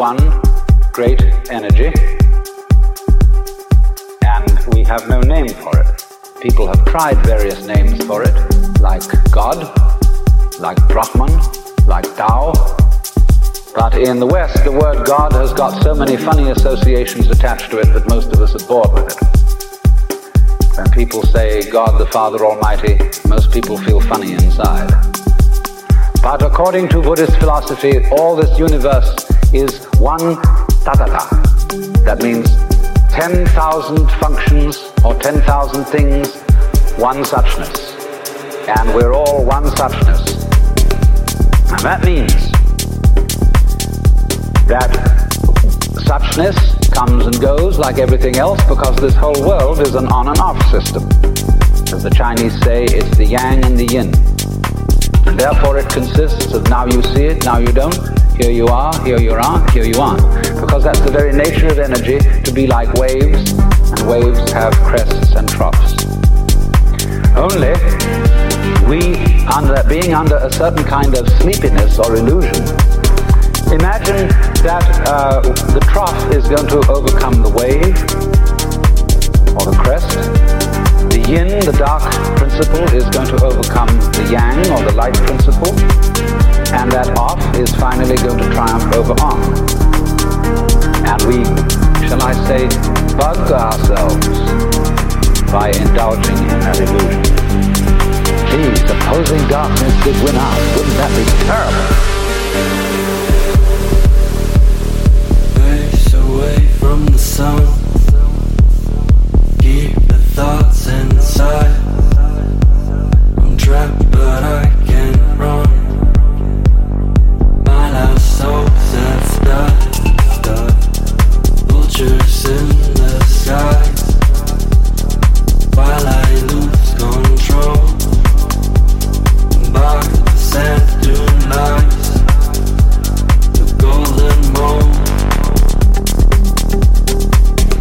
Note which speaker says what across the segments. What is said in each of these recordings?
Speaker 1: one great energy, and we have no name for it. People have tried various names for it, like God, like Brahman, like Tao. But in the West, the word God has got so many funny associations attached to it that most of us are bored with it. When people say God the Father Almighty, most people feel funny inside. But according to Buddhist philosophy, all this universe is one tathata. That means 10,000 functions or 10,000 things, one suchness. And we're all one suchness. And that means that suchness comes and goes like everything else, because this whole world is an on and off system. As the Chinese say, it's the yang and the yin. And therefore it consists of now you see it, now you don't, here you are, here you aren't, here you aren't. Because that's the very nature of energy, to be like waves, and waves have crests and troughs. Only being under a certain kind of sleepiness or illusion, imagine that the trough is going to overcome the wave or the crest. The yin, the dark principle, is going to overcome the yang or the light principle, and that off is finally going to triumph over on. And we, shall I say, bug ourselves by indulging in that illusion. Gee, supposing darkness did win out, wouldn't that be terrible?
Speaker 2: Face away from the sun, keep the thoughts inside. I'm trapped but I can't run. My last hope's at start. Vultures in the skies, while I lose control. Embark the sand dune lies, the golden mold.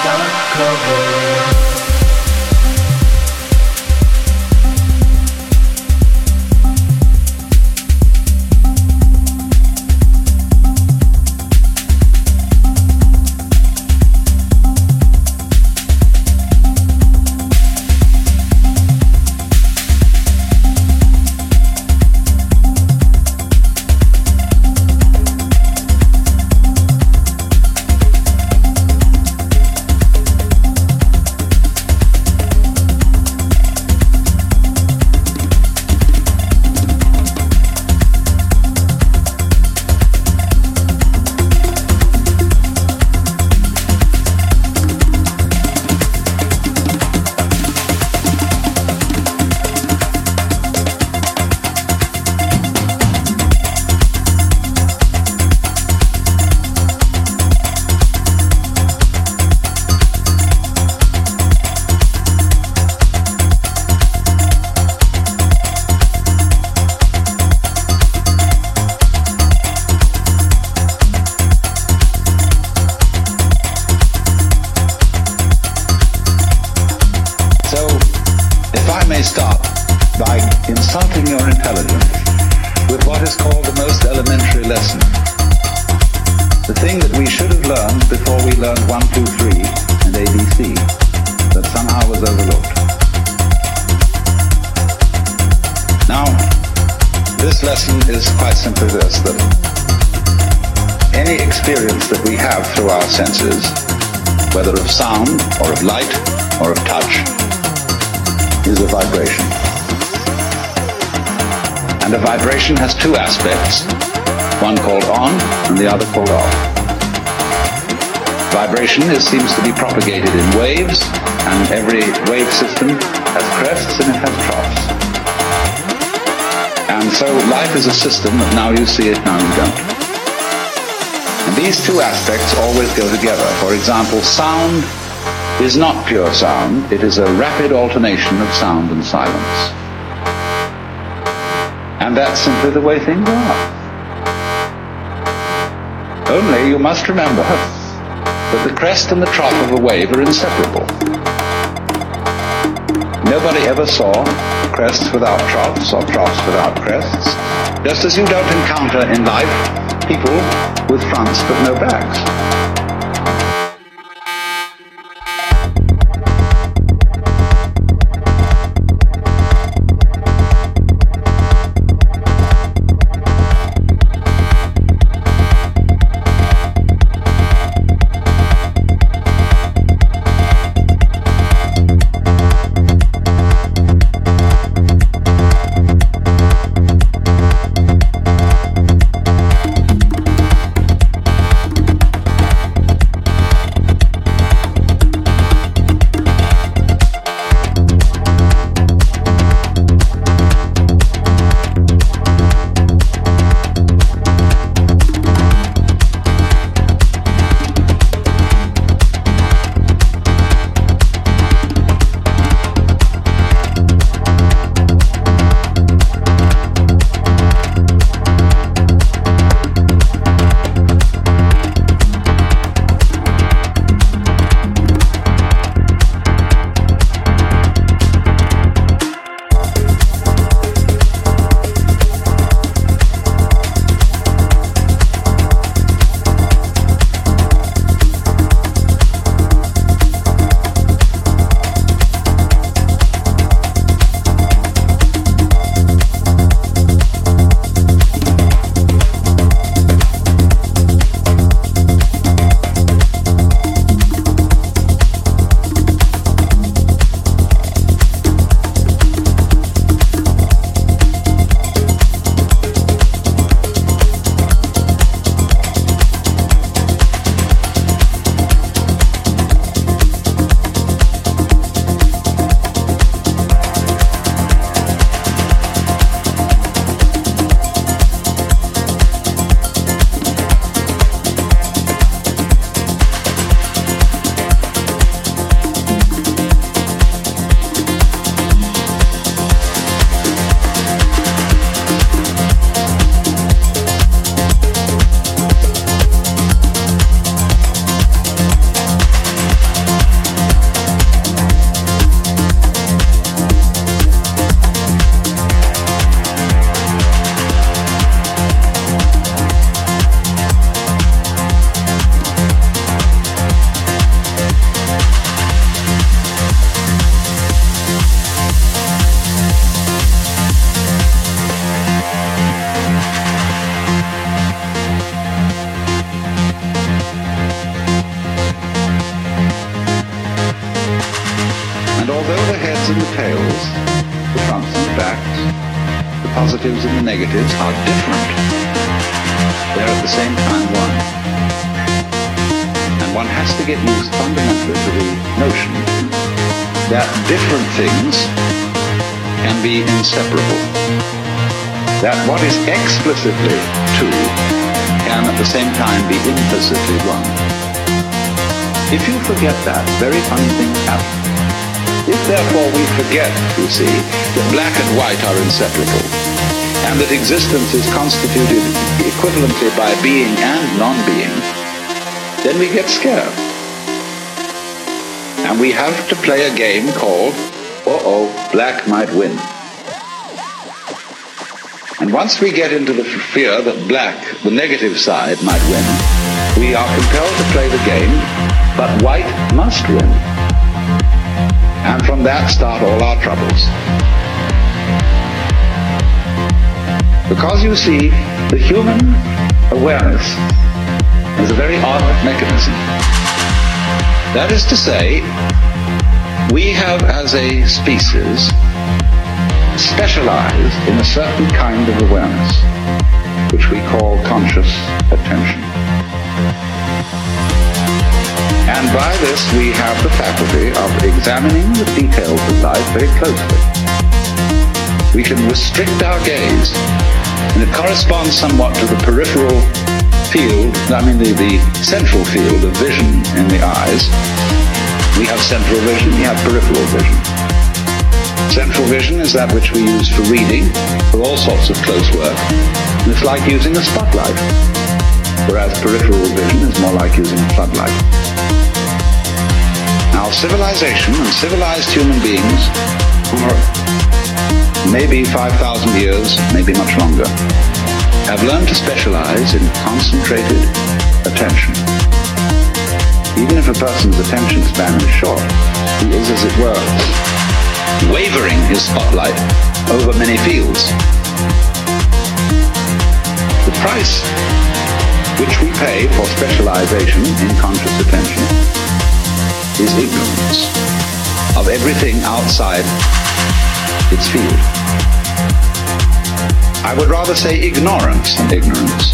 Speaker 2: gotta cover.
Speaker 3: Senses, whether of sound or of light or of touch, is a vibration. And a vibration has two aspects, one called on and the other called off. Vibration seems to be propagated in waves, and every wave system has crests and it has troughs. And so life is a system of now you see it, now you don't. And these two aspects always go together. For example, sound is not pure sound. It is a rapid alternation of sound and silence. And that's simply the way things are. Only you must remember that the crest and the trough of a wave are inseparable. Nobody ever saw crests without troughs or troughs without crests. Just as you don't encounter in life people with fronts but no backs. positives and the negatives are different. They're at the same time one. And one has to get used fundamentally to the notion that different things can be inseparable. That what is explicitly two can at the same time be implicitly one. If you forget that, very funny things happen. If therefore we forget, you see, that black and white are inseparable, and that existence is constituted equivalently by being and non-being, then we get scared. And we have to play a game called, black might win. And once we get into the fear that black, the negative side, might win, we are compelled to play the game, but white must win. And from that start all our troubles. Because you see, the human awareness is a very odd mechanism. That is to say, we have as a species specialized in a certain kind of awareness, which we call conscious attention. And by this we have the faculty of examining the details of life very closely. We can restrict our gaze, and it corresponds somewhat to the peripheral field, the central field of vision in the eyes. We have central vision, we have peripheral vision. Central vision is that which we use for reading, for all sorts of close work, and it's like using a spotlight, whereas peripheral vision is more like using a floodlight. Now, civilization and civilized human beings for maybe 5,000 years, maybe much longer, have learned to specialize in concentrated attention. Even if a person's attention span is short, he is, as it were, wavering his spotlight over many fields. The price which we pay for specialization in conscious attention is ignorance of everything outside its field. I would rather say ignorance than ignorance.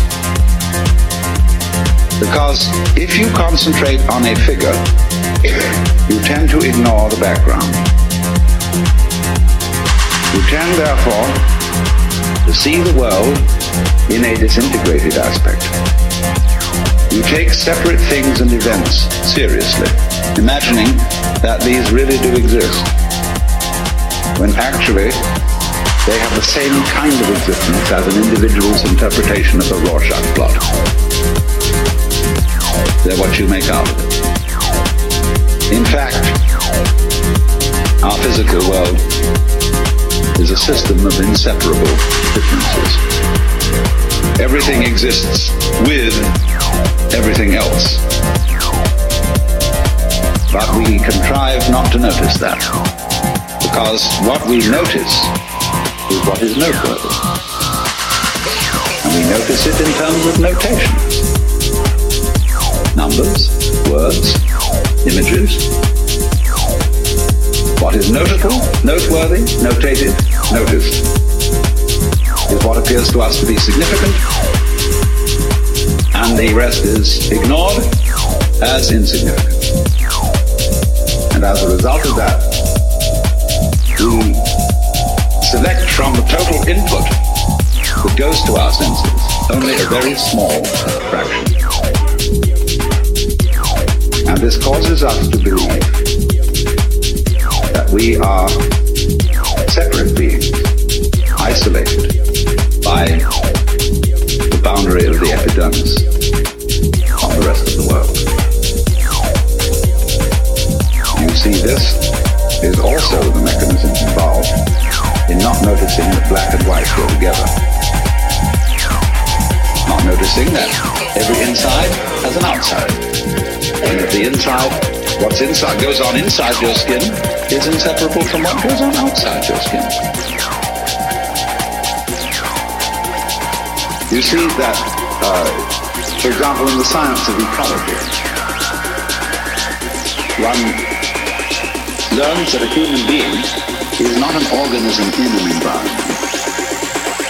Speaker 3: Because if you concentrate on a figure, you tend to ignore the background. You tend, therefore, to see the world in a disintegrated aspect. You take separate things and events seriously, imagining that these really do exist, when actually they have the same kind of existence as an individual's interpretation of the Rorschach plot. They're what you make out of it. In fact, our physical world is a system of inseparable differences. Everything exists with everything else. But we contrive not to notice that, because what we notice is what is noteworthy. And we notice it in terms of notation. Numbers, words, images. What is notable, noteworthy, notated, noticed, is what appears to us to be significant, and the rest is ignored as insignificant. And as a result of that, we select from the total input that goes to our senses only a very small fraction. And this causes us to believe that we are separate beings, isolated by the boundary of the epidermis from the rest of the world. You see, this is also the mechanism involved in not noticing that black and white go together. Not noticing that every inside has an outside. And that the inside, what's inside goes on inside your skin is inseparable from what goes on outside your skin. You see that, for example, in the science of ecology, one learns that a human being is not an organism in an environment,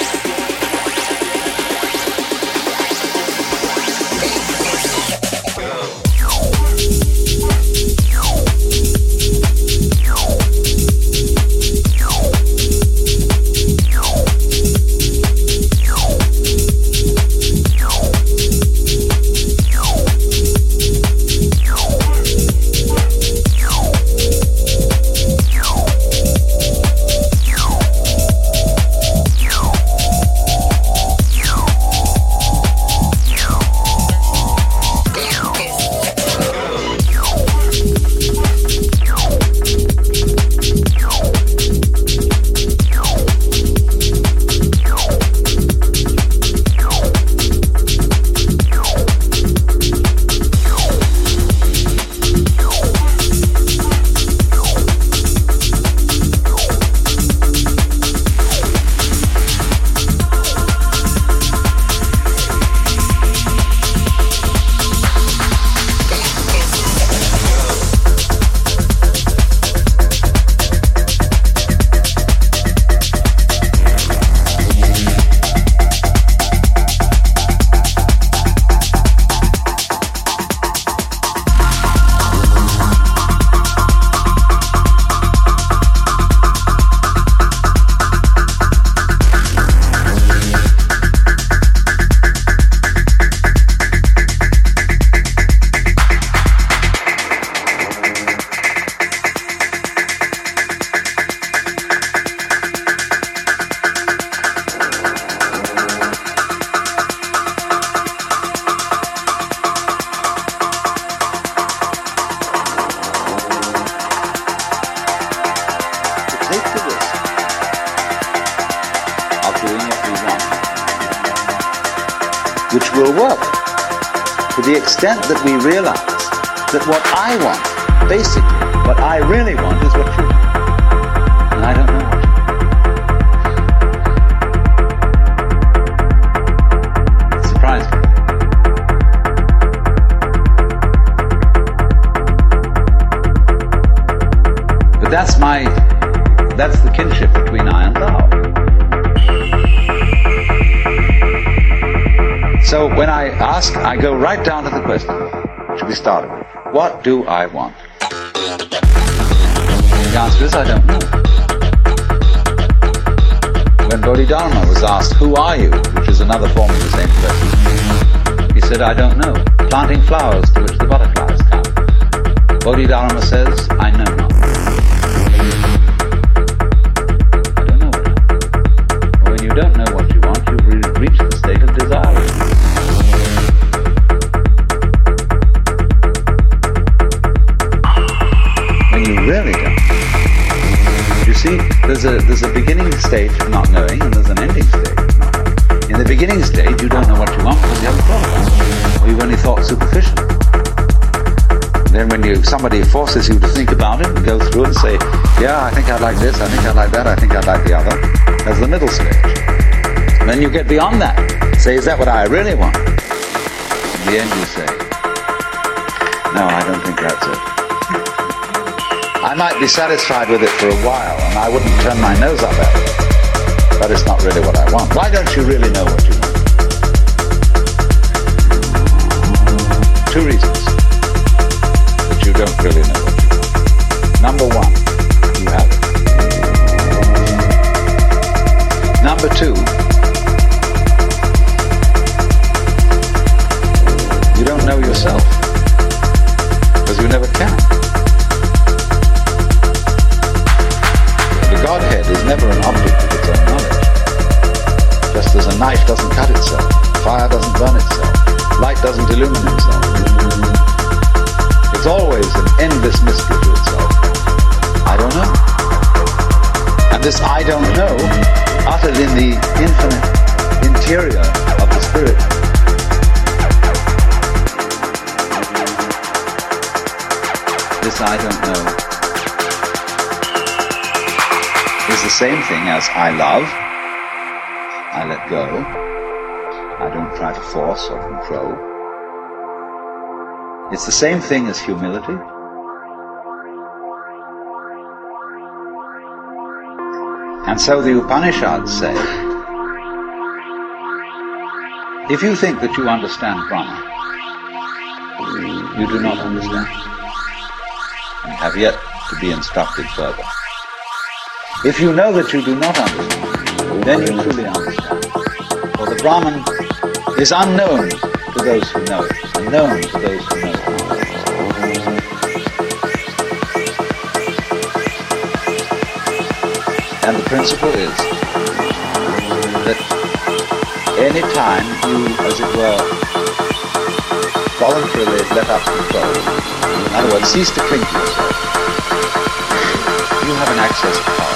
Speaker 3: will work to the extent that we realize that what I want, basically, what I really want is what you want. And I don't know what you want. It surprised me. But that's the kinship between I and thou. So when I ask, I go right down to the question, which we started with. What do I want? The answer is, I don't know. When Bodhidharma was asked, who are you? Which is another form of the same question. He said, I don't know. Planting flowers to which the butterflies come. Bodhidharma says, I know not. I don't know what I want. Well, when you don't know what you want, you reach the state of desire. You really don't. You see, there's a beginning stage of not knowing, and there's an ending stage of not knowing. In the beginning stage, you don't know what you want because you haven't thought about it, or you've only thought superficially. Then when somebody forces you to think about it and go through and say, yeah, I think I'd like this, I think I'd like that, I think I'd like the other, there's the middle stage. And then you get beyond that. Say, is that what I really want? In the end you say, no, I don't think that's it. I might be satisfied with it for a while, and I wouldn't turn my nose up at it, but it's not really what I want. Why don't you really know what you want? Two reasons that you don't really know what you want. Number one, you haven't. Number two, you don't know yourself, because you never can. Godhead is never an object of its own knowledge. Just as a knife doesn't cut itself, fire doesn't burn itself, light doesn't illumine itself. It's always an endless mystery to itself. I don't know. And this I don't know, uttered in the infinite interior of the spirit, this I don't know is the same thing as I love, I let go, I don't try to force or control. It's the same thing as humility. And so the Upanishads say, if you think that you understand Brahma, you do not understand, and have yet to be instructed further. If you know that you do not understand, then you truly understand. For the Brahman is unknown to those who know it, and known to those who know it. And the principle is that any time you, as it were, voluntarily let up control, in other words, cease to cling to yourself, you have an access to power.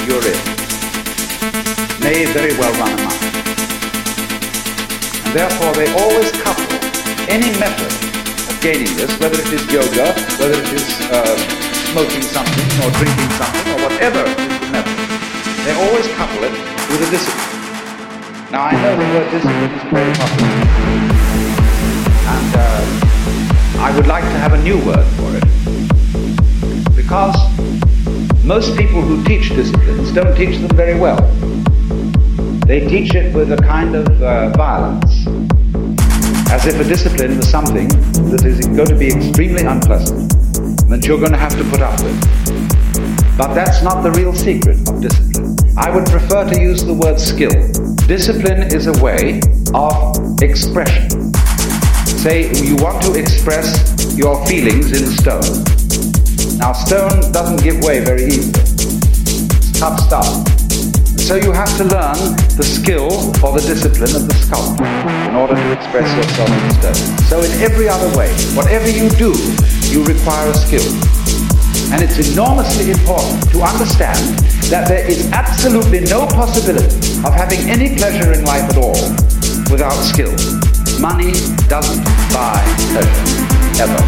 Speaker 3: you're in may very well run amok. And therefore they always couple any method of gaining this, whether it is yoga, whether it is smoking something or drinking something or whatever is the method, they always couple it with a discipline. Now I know the word discipline is very popular, and I would like to have a new word for it, because most people who teach disciplines don't teach them very well. They teach it with a kind of violence, as if a discipline was something that is going to be extremely unpleasant, that you're going to have to put up with. But that's not the real secret of discipline. I would prefer to use the word skill. Discipline is a way of expression. Say you want to express your feelings in stone. Now stone doesn't give way very easily. It's tough stuff. So you have to learn the skill or the discipline of the sculptor in order to express yourself in stone. So in every other way, whatever you do, you require a skill. And it's enormously important to understand that there is absolutely no possibility of having any pleasure in life at all without skill. Money doesn't buy pleasure, ever.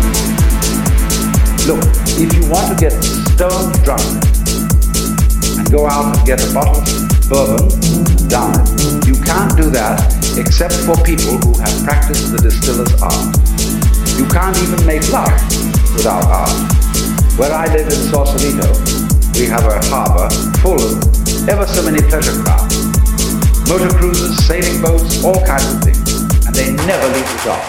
Speaker 3: Look, if you want to get stone drunk and go out and get a bottle of bourbon and down it, you can't do that except for people who have practiced the distiller's art. You can't even make love without art. Where I live in Sausalito, we have a harbor full of ever so many pleasure craft, motor cruisers, sailing boats, all kinds of things, and they never leave the dock.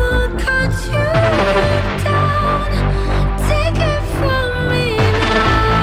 Speaker 4: Cut you down, take it from me now.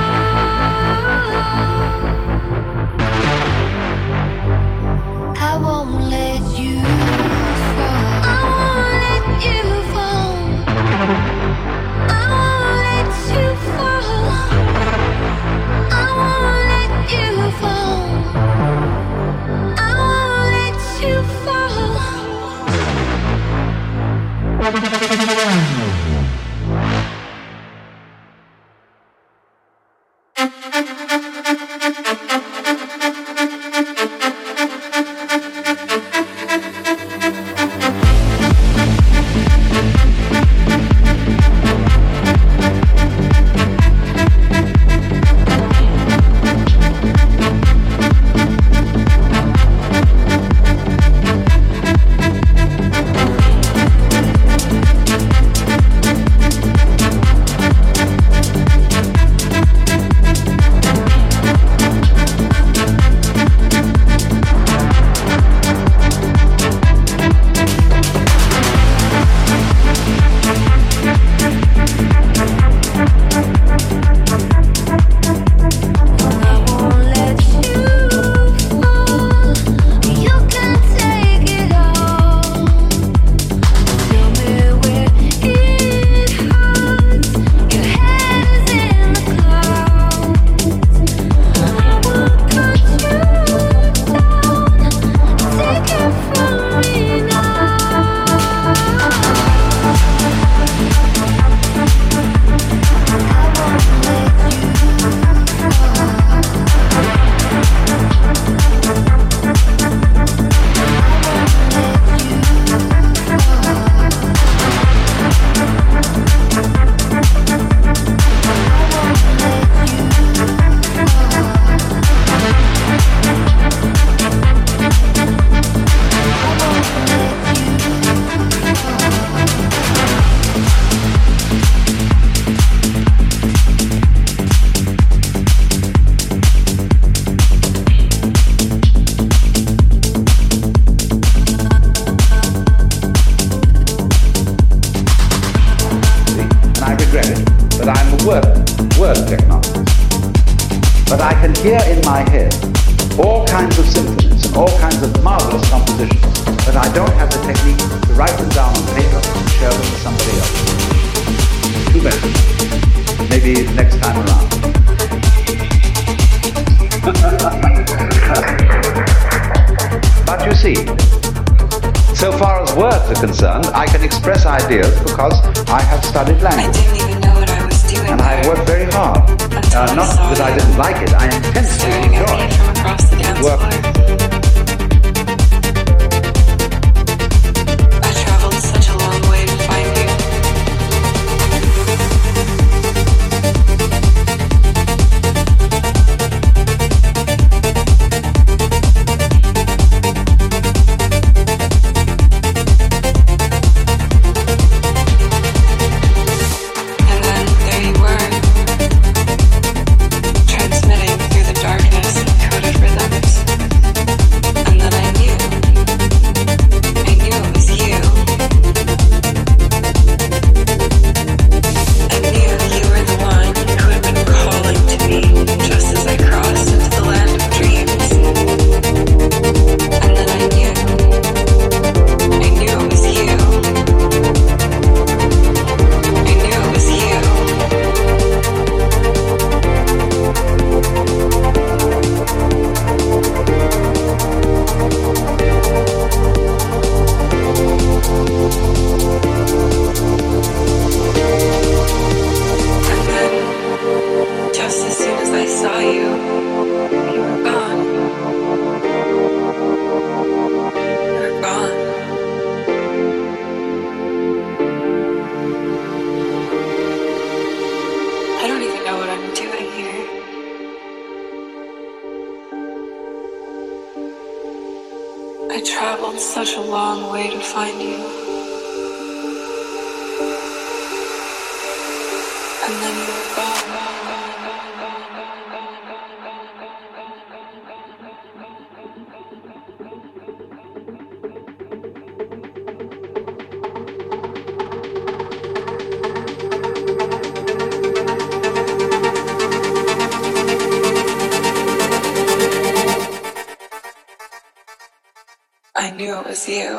Speaker 3: I can hear in my head all kinds of symphonies and all kinds of marvelous compositions, but I don't have the technique to write them down on paper and share them with somebody else. Too bad. Maybe next time around. But you see, so far as words are concerned, I can express ideas because I have studied language.
Speaker 4: I didn't even know what I was doing.
Speaker 3: And I worked very hard. Not that I didn't like it, I intensely enjoyed
Speaker 4: from across the dance
Speaker 3: work.
Speaker 4: floor. I traveled such a long way to find you. And then there you were, transmitting through the darkness encoded rhythms. And then I knew it was you. I knew you were the one who had been calling to me just as I crossed into the land of dreams. And then I knew it was you. I knew it was you. And then, just as soon as I saw you were gone. You were gone. I don't even know what I'm doing here. I traveled such a long way to find you. And then you were gone. I knew it was you.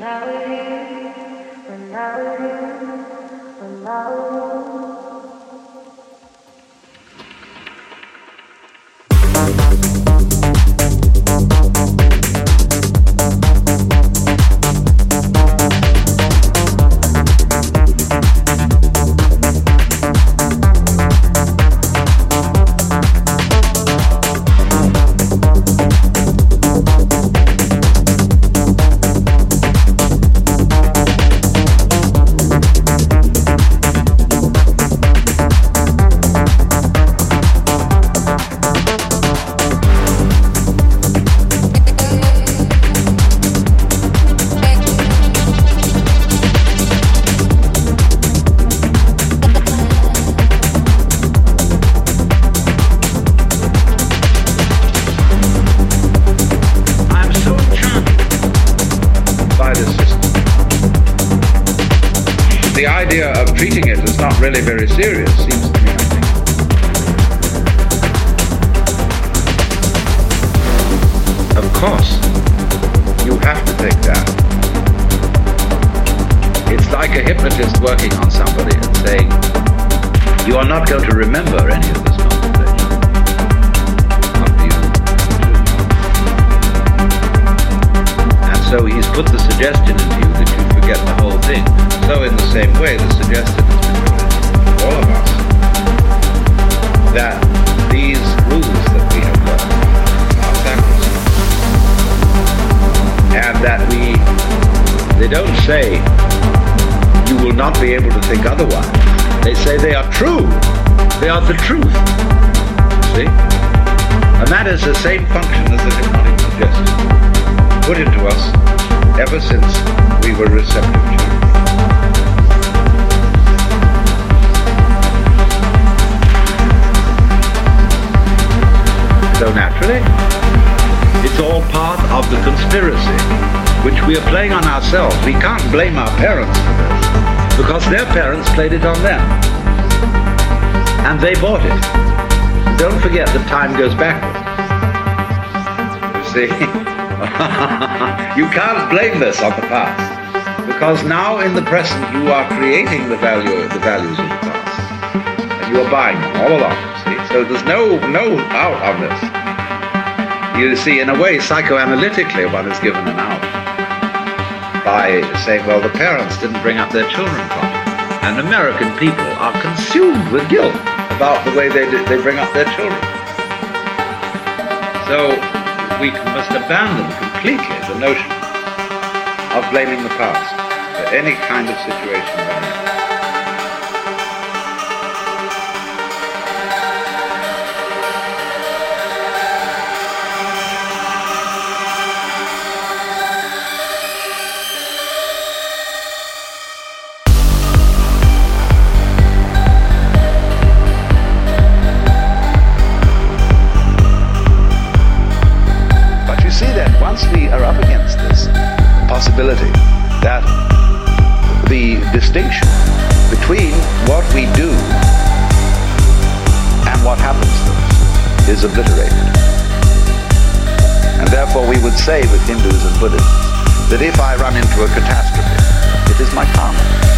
Speaker 3: The idea of treating it as not really very serious seems to me, I think. Of course, you have to take that. It's like a hypnotist working on somebody and saying, you are not going to remember any of this conversation. After you do. And so he's put the suggestion into you that you forget the whole thing. So in the same way, the suggestion has been put into all of us that these rules that we have learned are sacrosanct. And that they don't say you will not be able to think otherwise. They say they are true. They are the truth. See? And that is the same function as the hypnotic suggestion put into us ever since we were receptive to it. So naturally, it's all part of the conspiracy which we are playing on ourselves. We can't blame our parents for this, because their parents played it on them. And they bought it. Don't forget that time goes backwards. You see? You can't blame this on the past, because now in the present you are creating the values of the past. And you are buying them all along. See? So there's no out on this. You see, in a way, psychoanalytically, one is given an out by saying, well, the parents didn't bring up their children properly. And American people are consumed with guilt about the way they bring up their children. So we must abandon completely the notion of blaming the past for any kind of situation we're in. Once we are up against this possibility that the distinction between what we do and what happens to us is obliterated. And therefore we would say with Hindus and Buddhists that if I run into a catastrophe, it is my karma.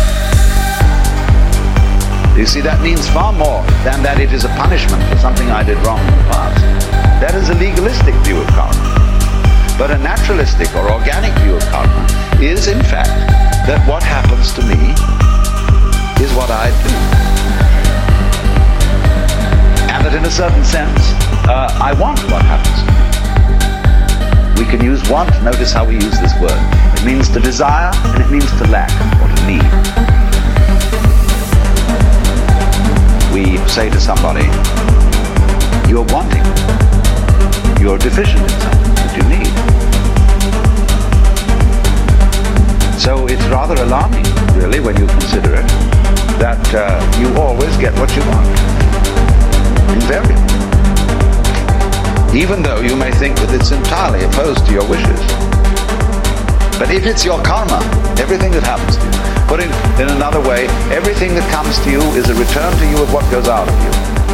Speaker 3: You see, that means far more than that it is a punishment for something I did wrong in the past. That is a legalistic view of karma. But a naturalistic or organic view of karma is, in fact, that what happens to me is what I do. And that in a certain sense, I want what happens to me. We can use want, notice how we use this word. It means to desire and it means to lack or to need. We say to somebody, you're wanting, you're deficient in something that you need. So it's rather alarming, really, when you consider it, that you always get what you want. Invariably. Even though you may think that it's entirely opposed to your wishes. But if it's your karma, everything that happens to you, put it in another way, everything that comes to you is a return to you of what goes out of you.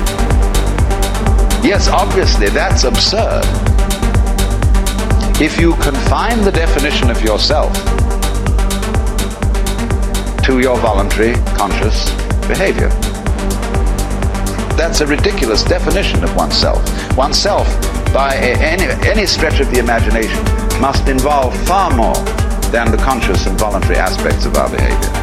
Speaker 3: Yes, obviously, that's absurd. If you confine the definition of yourself to your voluntary, conscious behavior. That's a ridiculous definition of oneself. Oneself, by any stretch of the imagination, must involve far more than the conscious and voluntary aspects of our behavior.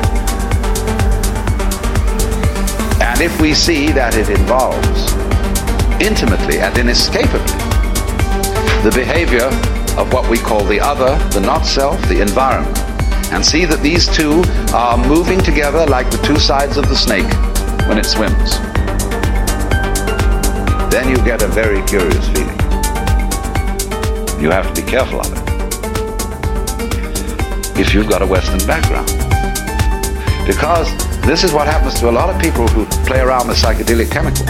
Speaker 3: And if we see that it involves intimately and inescapably the behavior of what we call the other, the not self, the environment, and see that these two are moving together like the two sides of the snake when it swims, then you get a very curious feeling. You have to be careful of it if you've got a Western background. Because this is what happens to a lot of people who play around with psychedelic chemicals.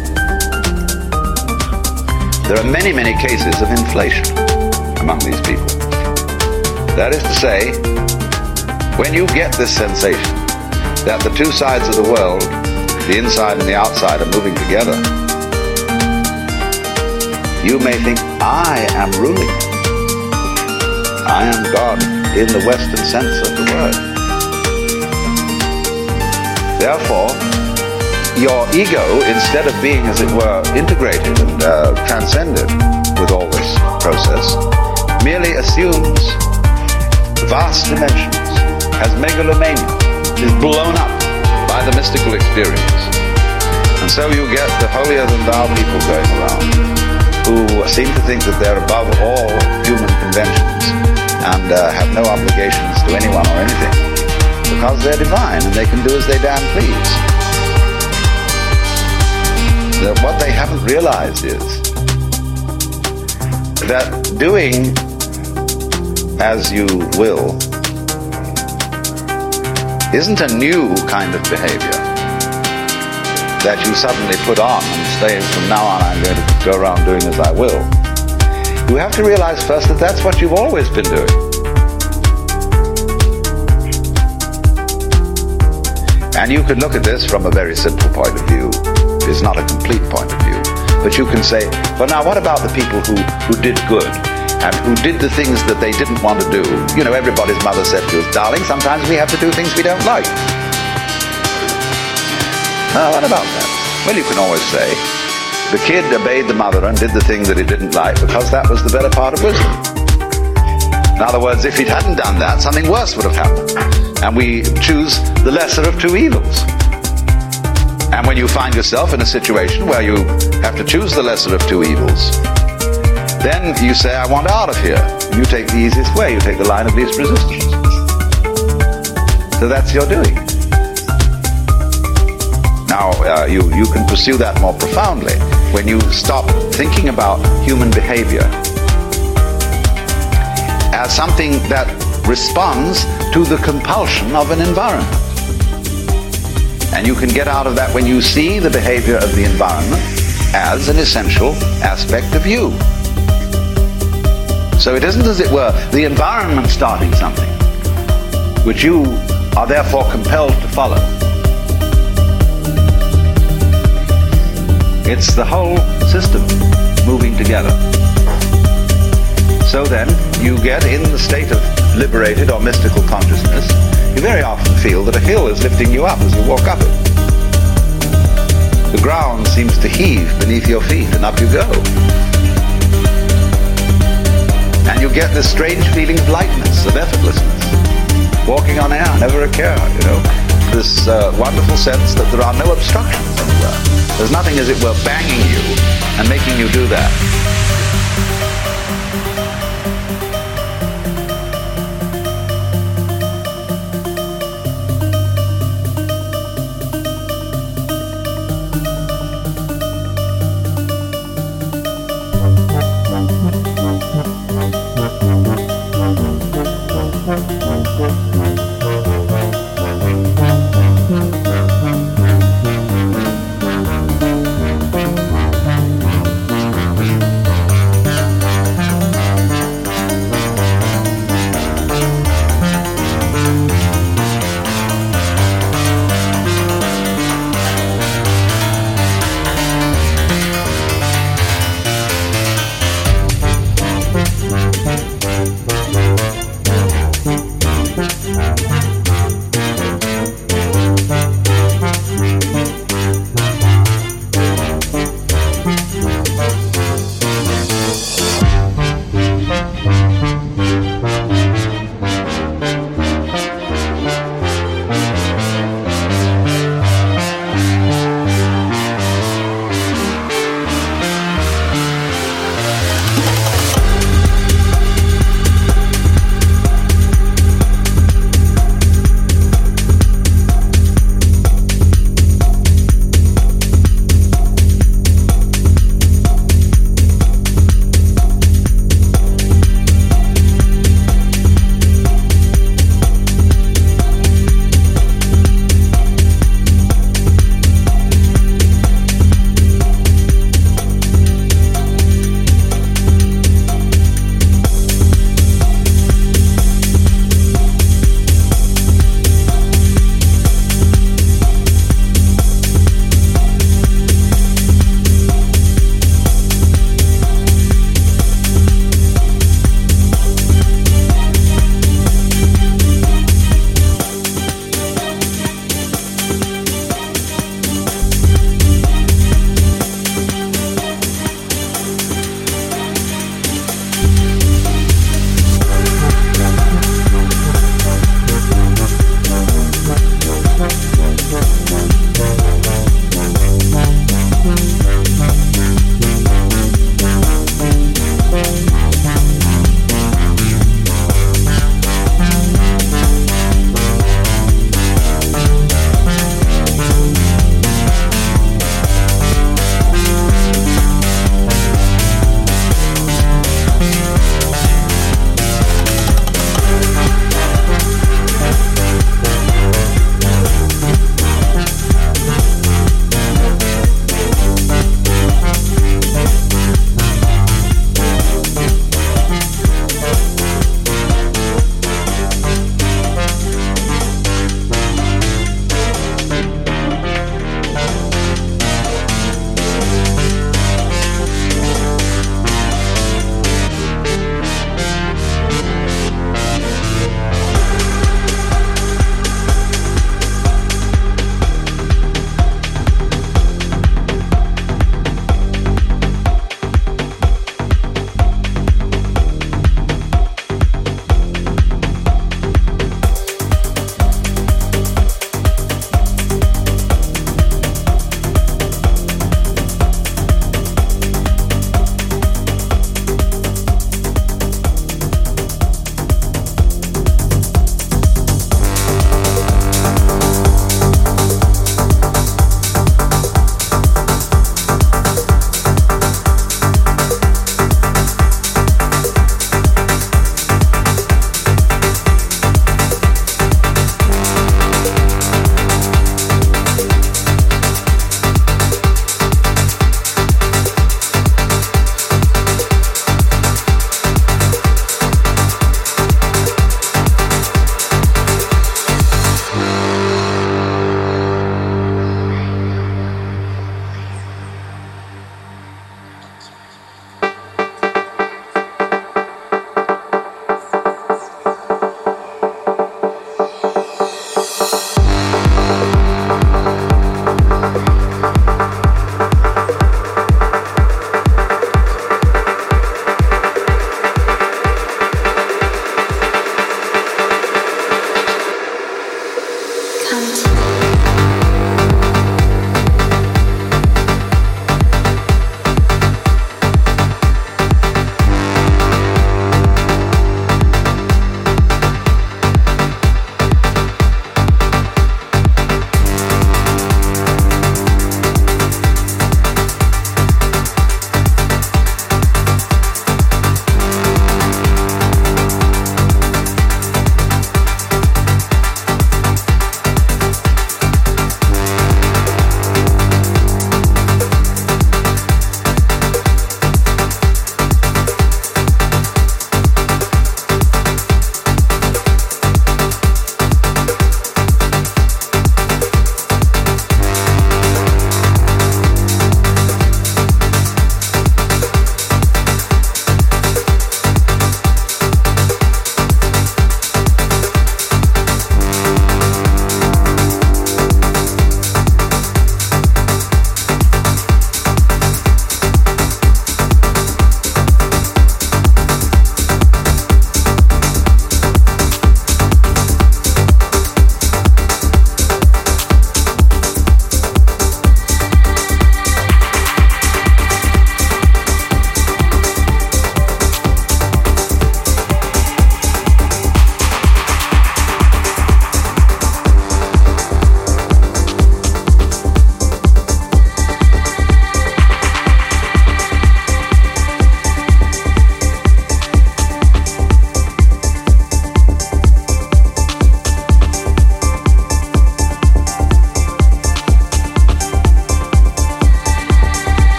Speaker 3: There are many, many cases of inflation among these people. That is to say, when you get this sensation that the two sides of the world, the inside and the outside, are moving together, you may think, I am ruling. I am God in the Western sense of the word. Therefore, your ego, instead of being, as it were, integrated and transcended with all this process, merely assumes vast dimensions, has megalomania, is blown up by the mystical experience. And so you get the holier-than-thou people going around who seem to think that they're above all human conventions and have no obligations to anyone or anything because they're divine and they can do as they damn please. That what they haven't realized is that doing as you will isn't a new kind of behavior that you suddenly put on and say, from now on I'm going to go around doing as I will. You have to realize first that that's what you've always been doing. And you could look at this from a very simple point of view. It's not a complete point of view. But you can say, well, now what about the people who did good and who did the things that they didn't want to do? You know, everybody's mother said to us, darling, sometimes we have to do things we don't like. What about that? Well, you can always say, the kid obeyed the mother and did the thing that he didn't like because that was the better part of wisdom. In other words, if he hadn't done that, something worse would have happened. And we choose the lesser of two evils. And when you find yourself in a situation where you have to choose the lesser of two evils, then you say, I want out of here. You take the easiest way. You take the line of least resistance. So that's your doing. Now, you can pursue that more profoundly when you stop thinking about human behavior as something that responds to the compulsion of an environment. And you can get out of that when you see the behavior of the environment as an essential aspect of you. So it isn't, as it were, the environment starting something, which you are therefore compelled to follow. It's the whole system moving together. So then, you get in the state of liberated or mystical consciousness, you very often feel that a hill is lifting you up as you walk up it. The ground seems to heave beneath your feet, and up you go. And you get this strange feeling of lightness, of effortlessness. Walking on air, never a care, you know. This wonderful sense that there are no obstructions anywhere. There's nothing, as it were, banging you and making you do that.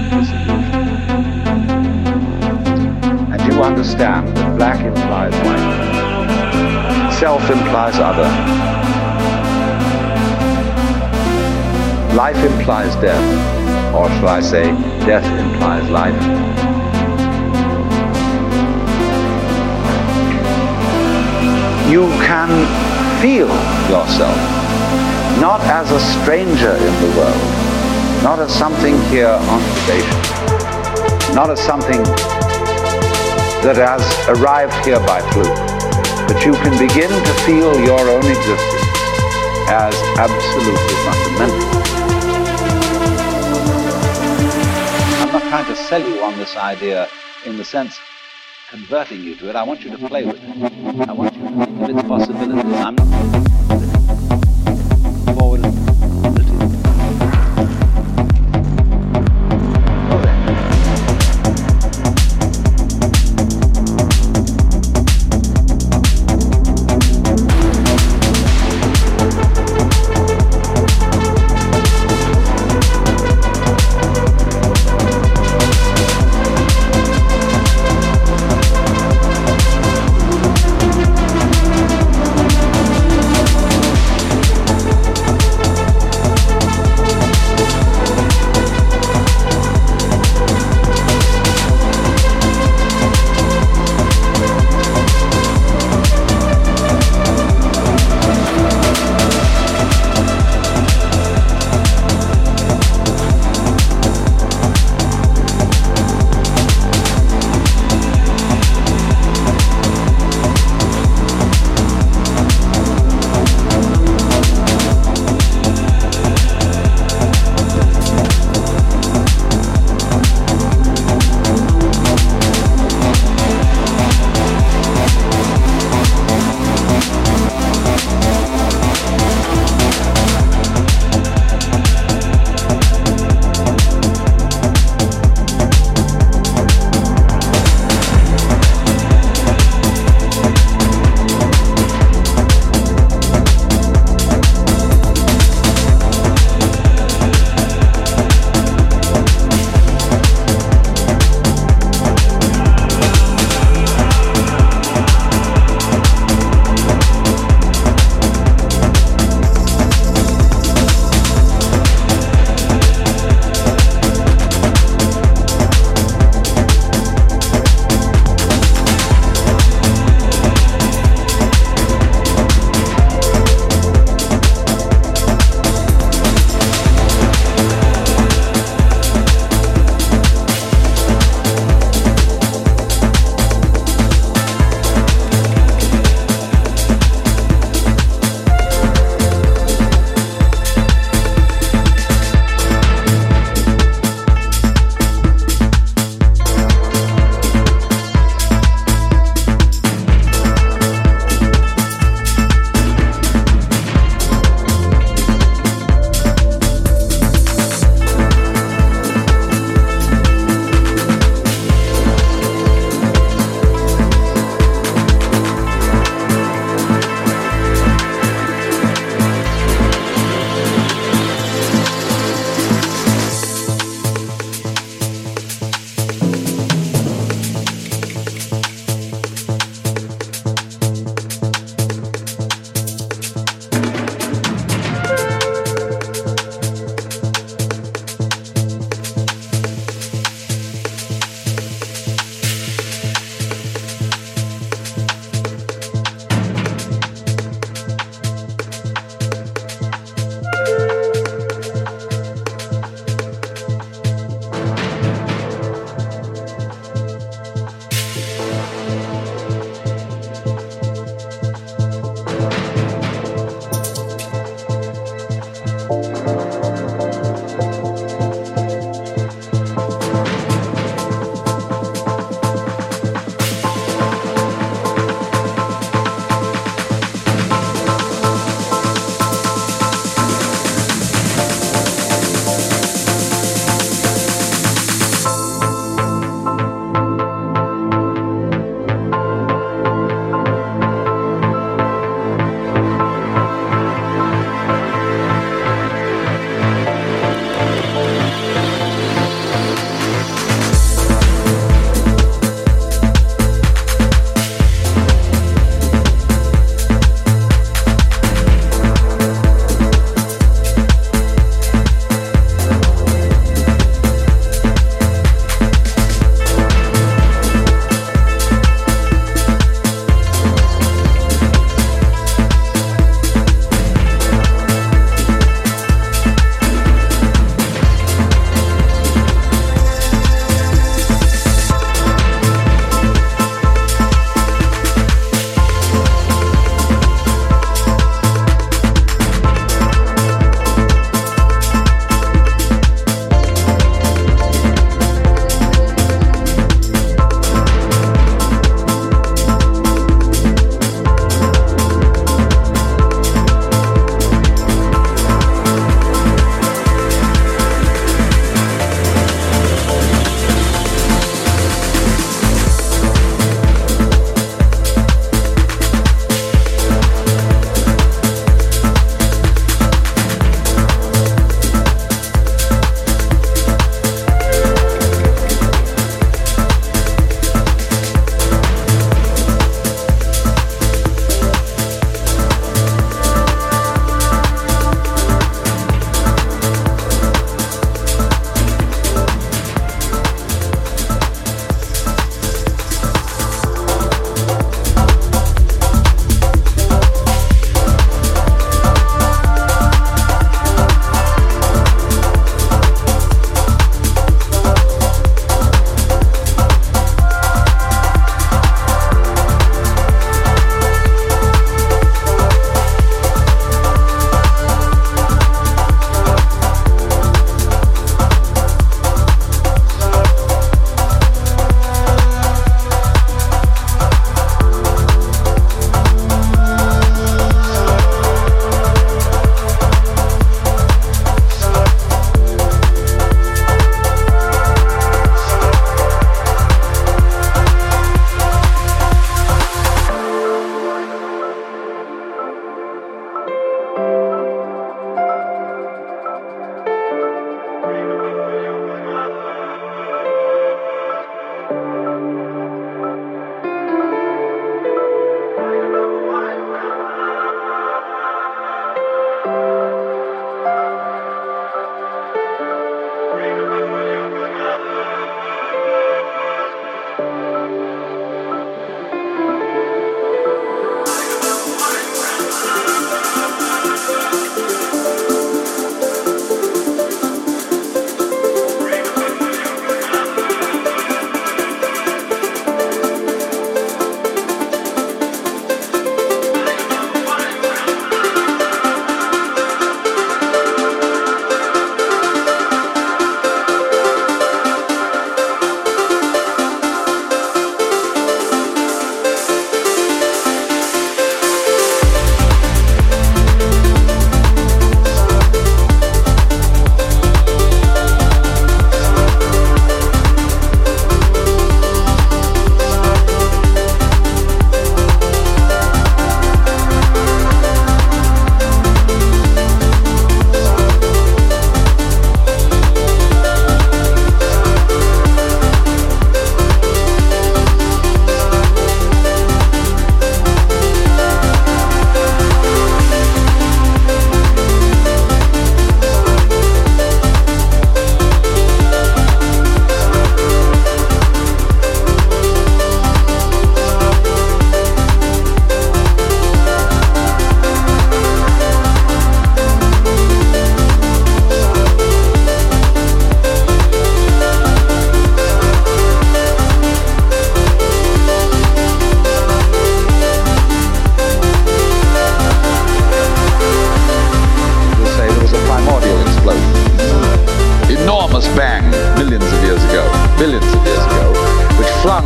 Speaker 3: this illusion. And you understand that black implies white, self implies other, life implies death, or shall I say, death implies life. You can feel yourself not as a stranger in the world, not as something here on probation, not as something that has arrived here by fluke, but you can begin to feel your own existence as absolutely fundamental. I'm not trying to sell you on this idea in the sense converting you to it. I want you to play with it. I want you to think of its possibilities. I'm not forward.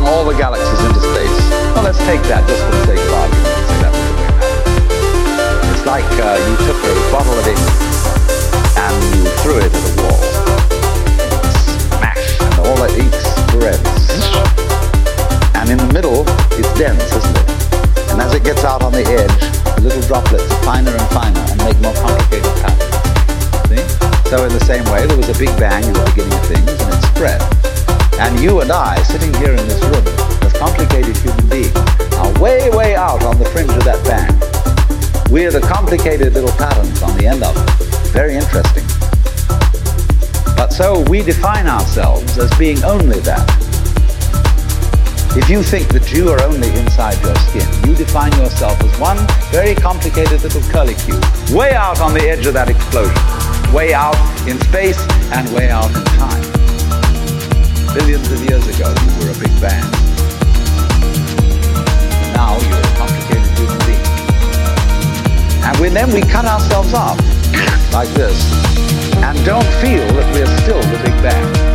Speaker 1: all the galaxies into space. Well, let's take that just for the sake of argument and say that's the way it happened. It's like you took a bottle of ink and you threw it at a wall. Smash! And all that ink spreads. And in the middle, it's dense, isn't it? And as it gets out on the edge, the little droplets are finer and finer and make more complicated patterns. See? So in the same way, there was a big bang in the beginning of things, and it spread. And you and I, sitting here in this room, as complicated human beings, are way, way out on the fringe of that bang. We're the complicated little patterns on the end of it. Very interesting. But so we define ourselves as being only that. If you think that you are only inside your skin, you define yourself as one very complicated little curlicue, way out on the edge of that explosion, way out in space and way out in time. Billions of years ago, you were a big bang. Now you're a complicated human being. And then we cut ourselves off, like this, and don't feel that we're still the big bang.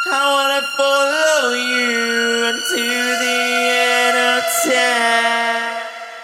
Speaker 5: I wanna follow you unto the end of time.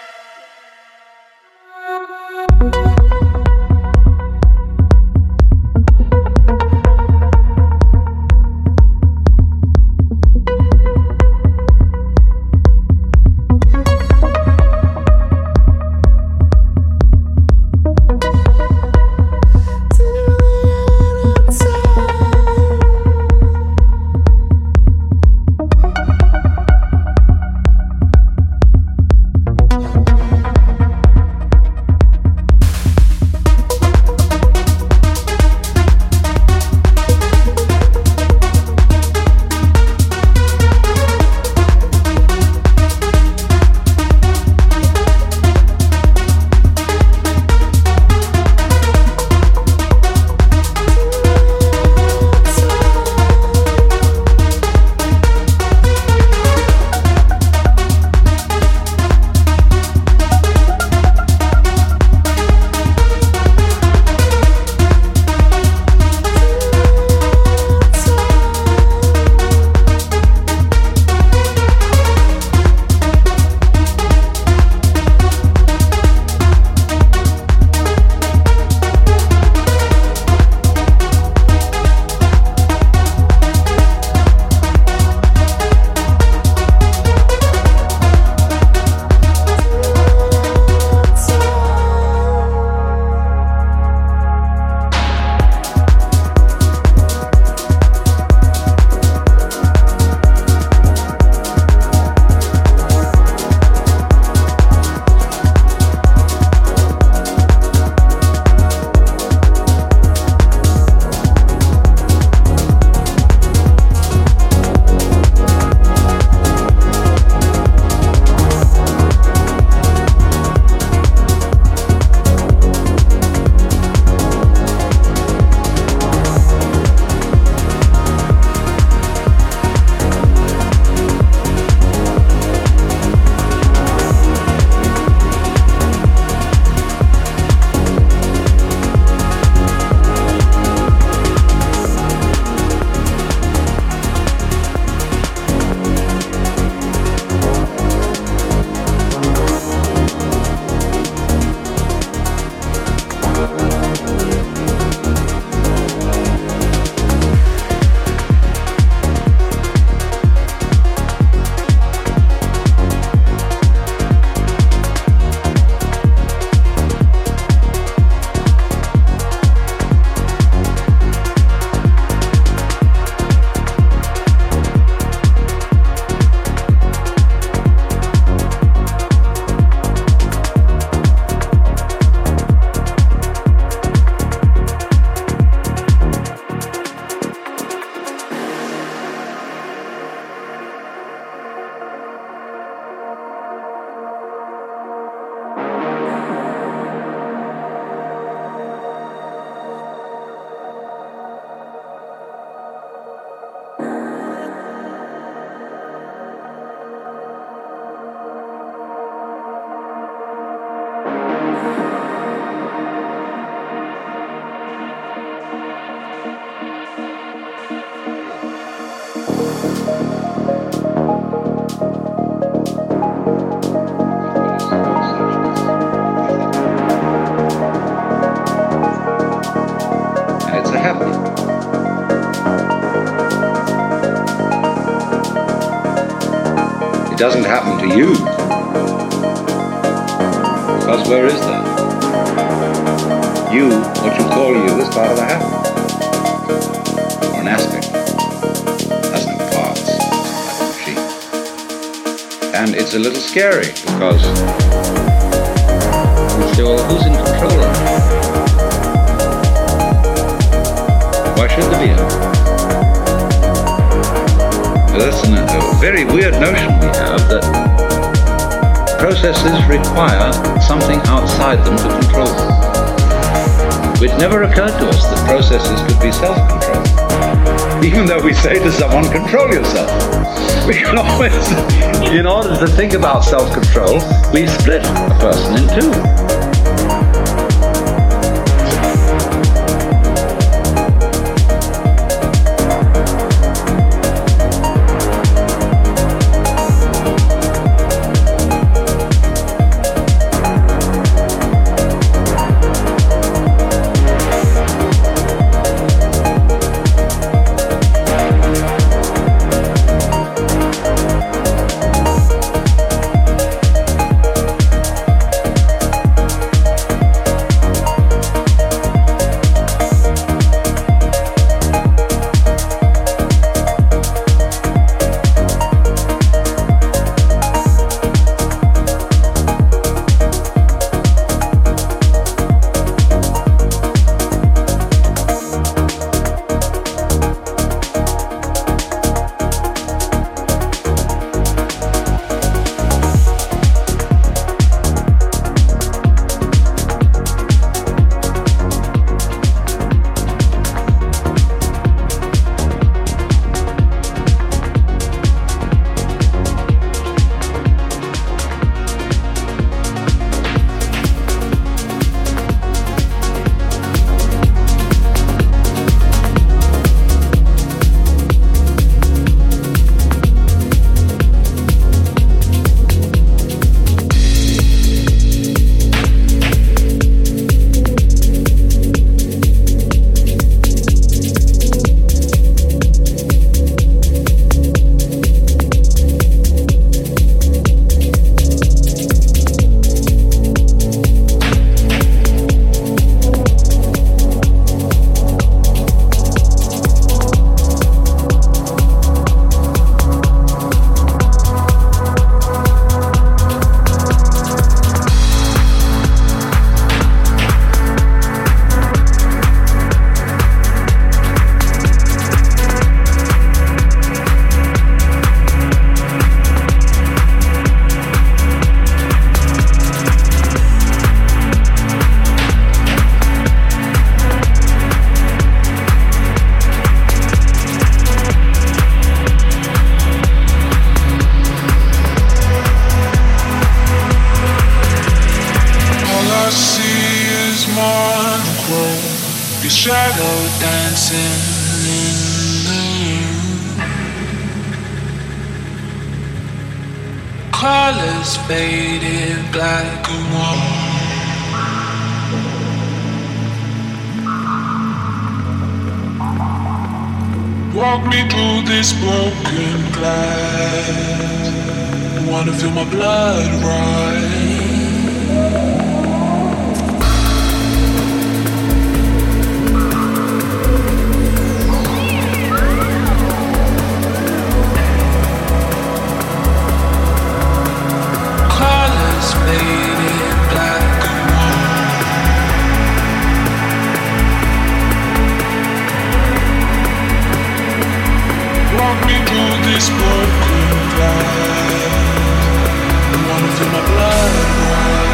Speaker 3: doesn't happen to you. Because where is that? You, what you call you, is part of the happen. Or an aspect. Has no parts. Like a machine. And it's a little scary because you say, well, who's in control of it? Why should there be a Well, that's a very weird notion we have that processes require something outside them to control them. It never occurred to us that processes could be self-controlled. Even though we say to someone, control yourself. We can always, in order to think about self-control, we split a person in two.
Speaker 6: Your shadow dancing in the room. Colors faded, black and white. Walk me through this broken glass. Wanna feel my blood rise. Colors faded, black and white. Walk me through this broken glass. I wanna feel my blood rise.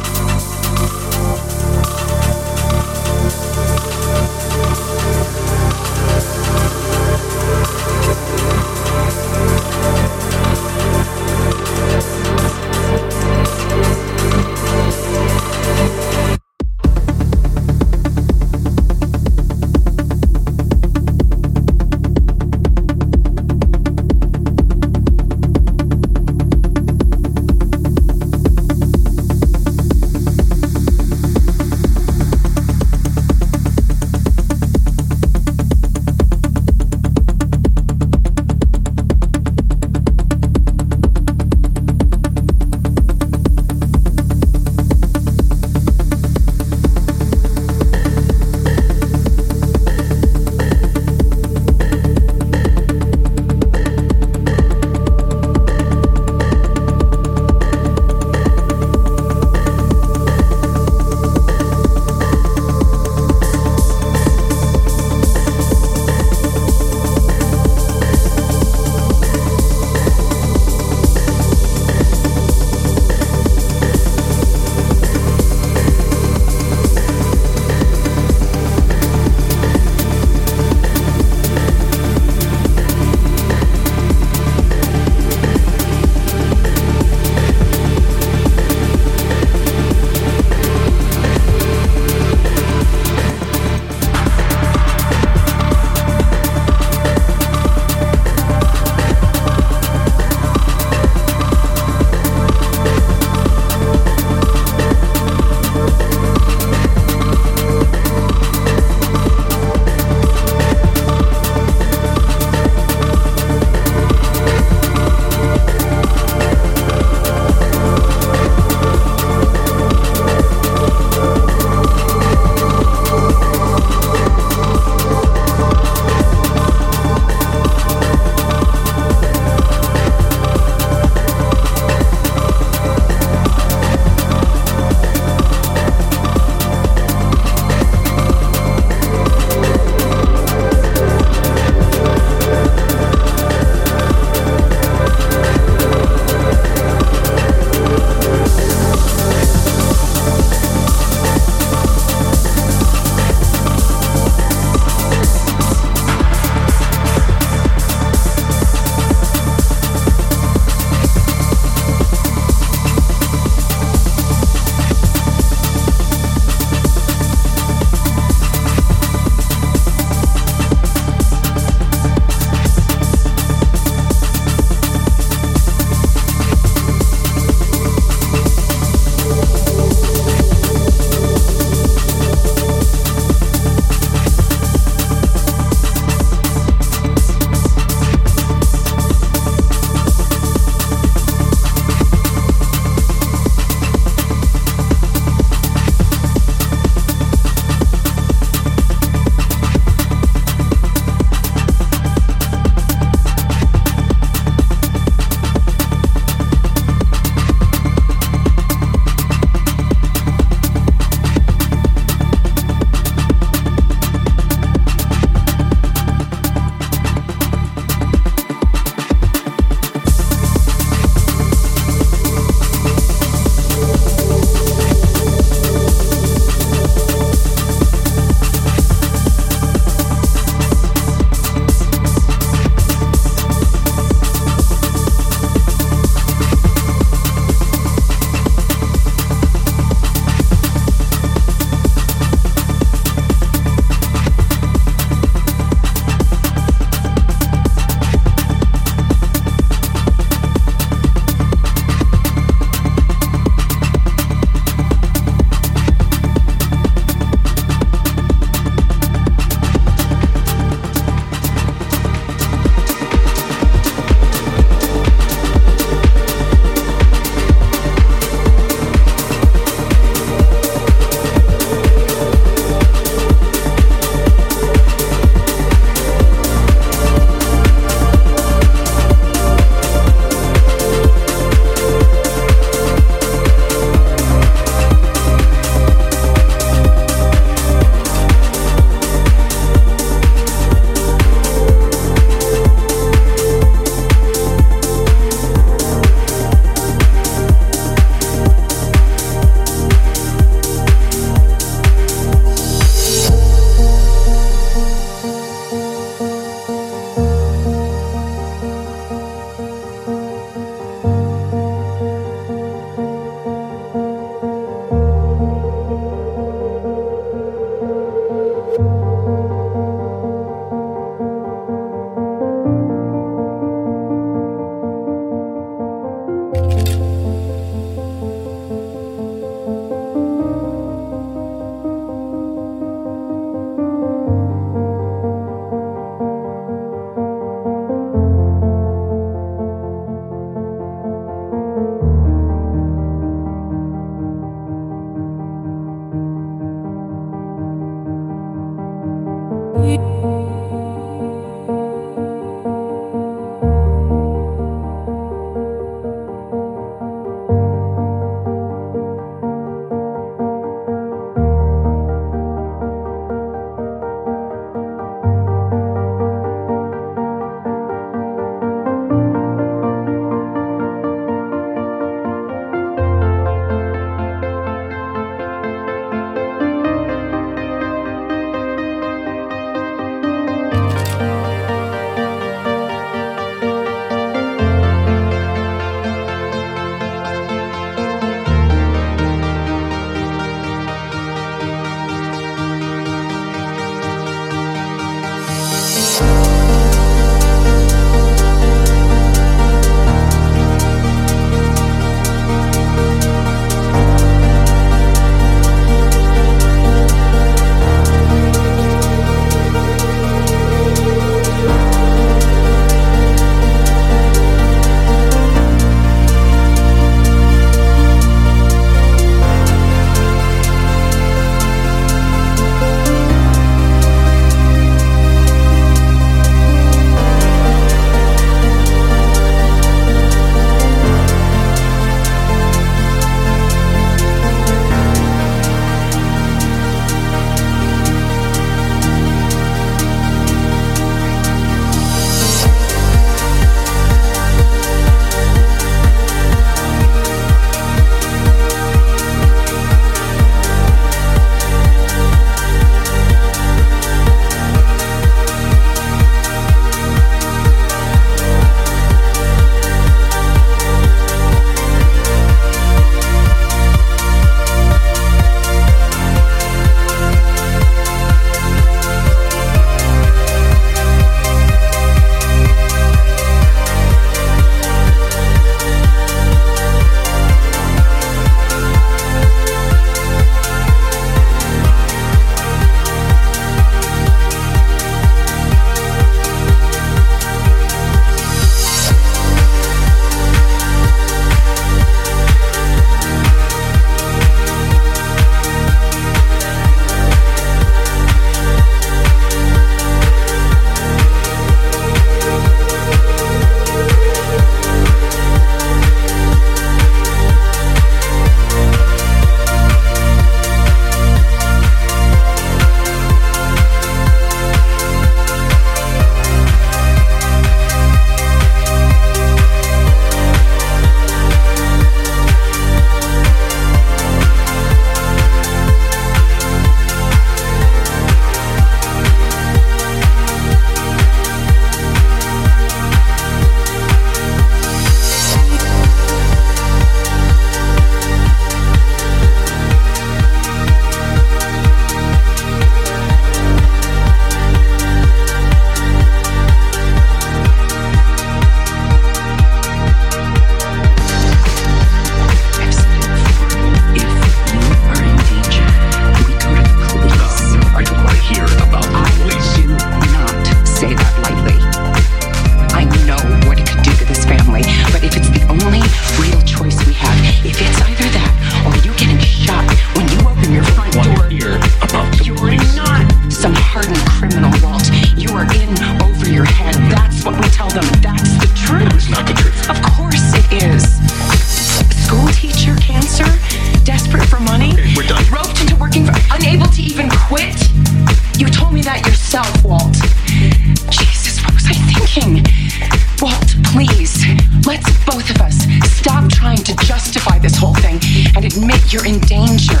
Speaker 4: You're in danger.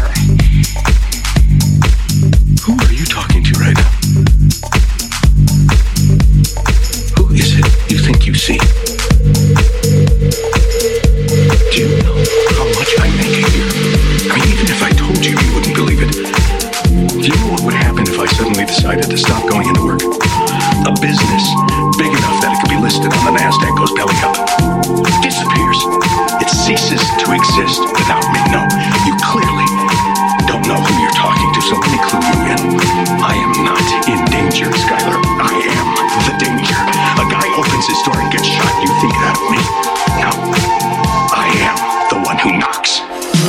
Speaker 7: Who are you talking to right now? Who is it you think you see? Do you know how much I make a year? I mean, even if I told you, you wouldn't believe it. Do you know what would happen if I suddenly decided to stop going into work? A business big enough that it could be listed on the NASDAQ goes belly up. Disappears. It ceases to exist without me. No, you clearly don't know who you're talking to, so let me clue you in. I am not in danger, Skylar. I am the danger. A guy opens his door and gets shot. You think that of me? No. I am the one who knocks.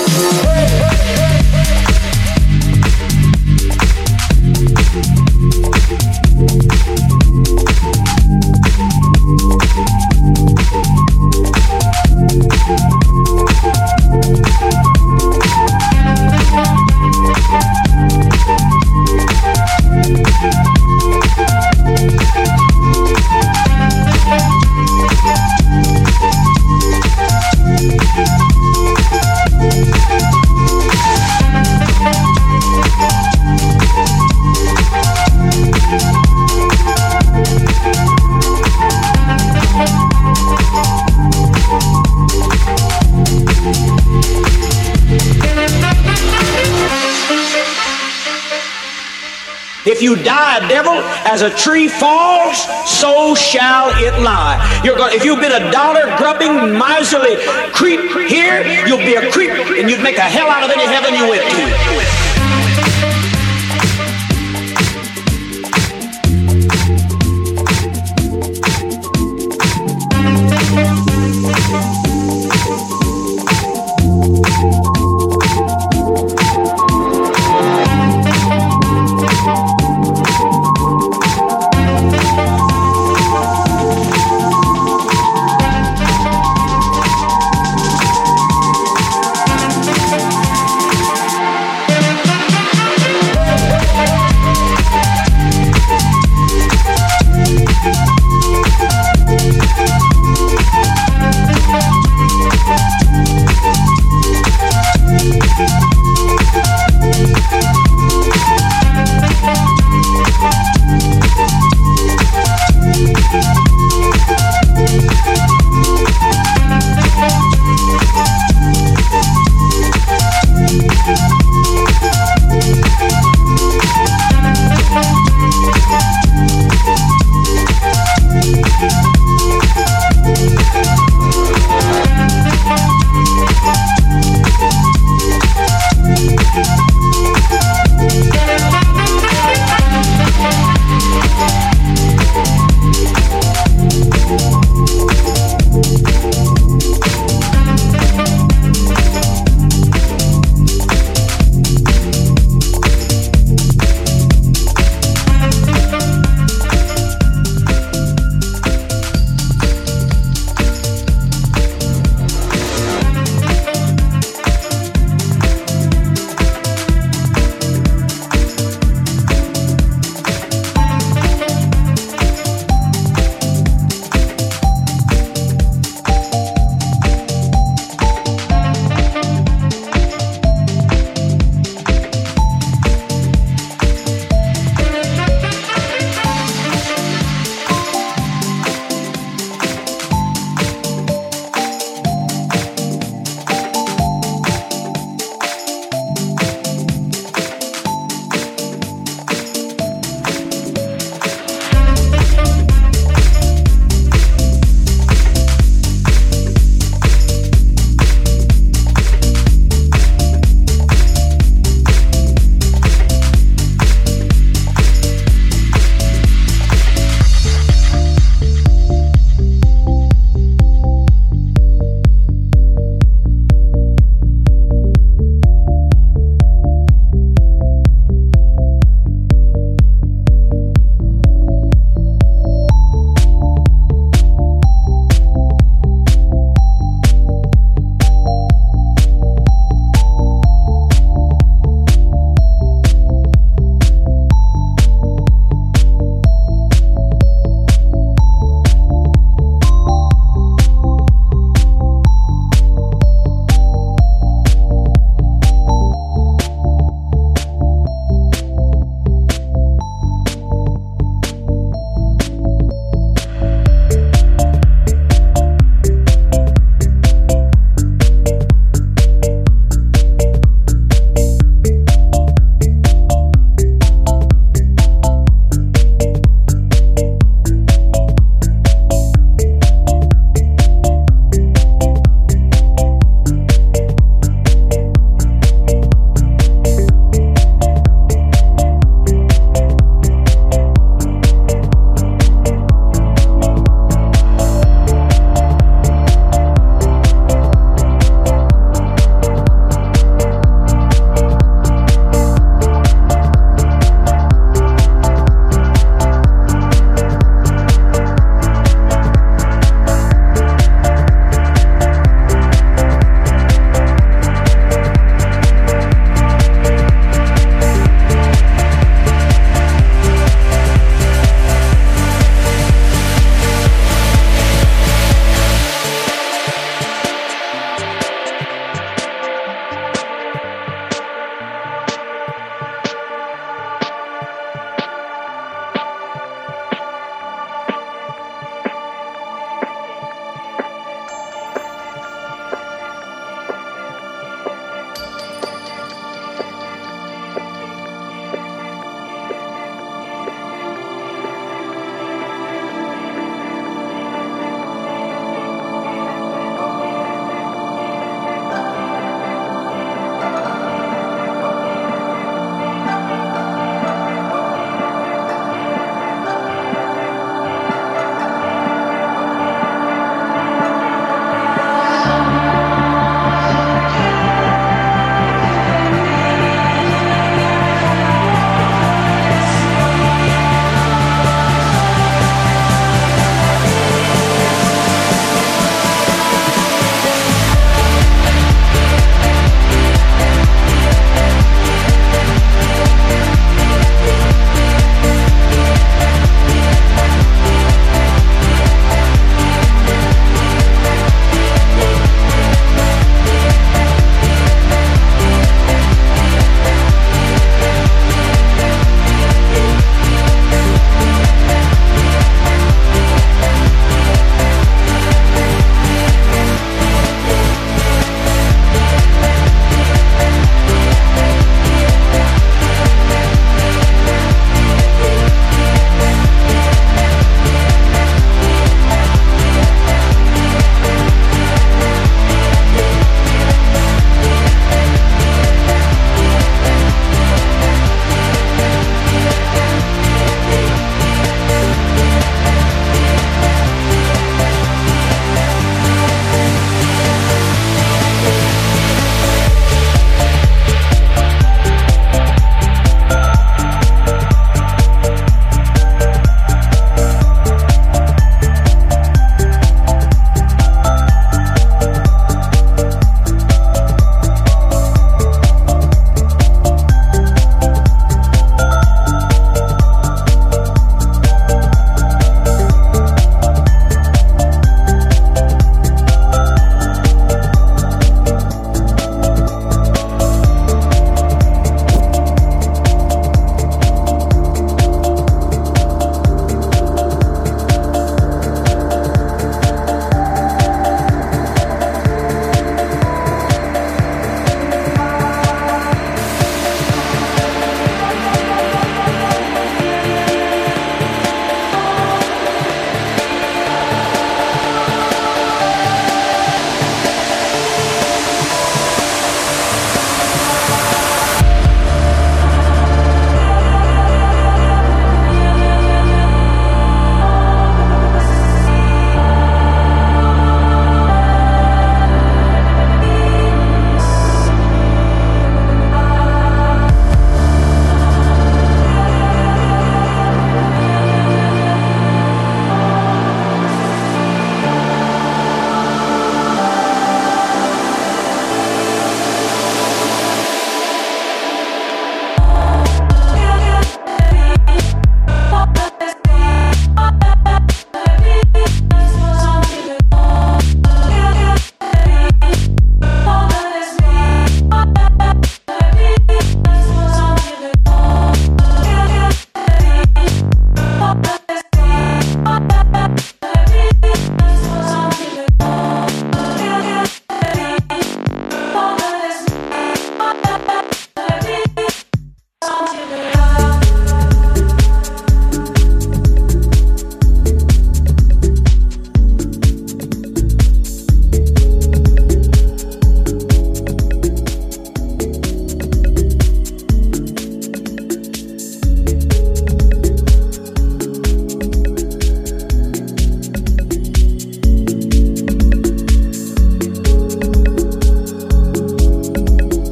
Speaker 8: If you die a devil, as a tree falls, so shall it lie. If you've been a dollar-grubbing, miserly creep here, you'll be a creep, and you'd make a hell out of any heaven you went to.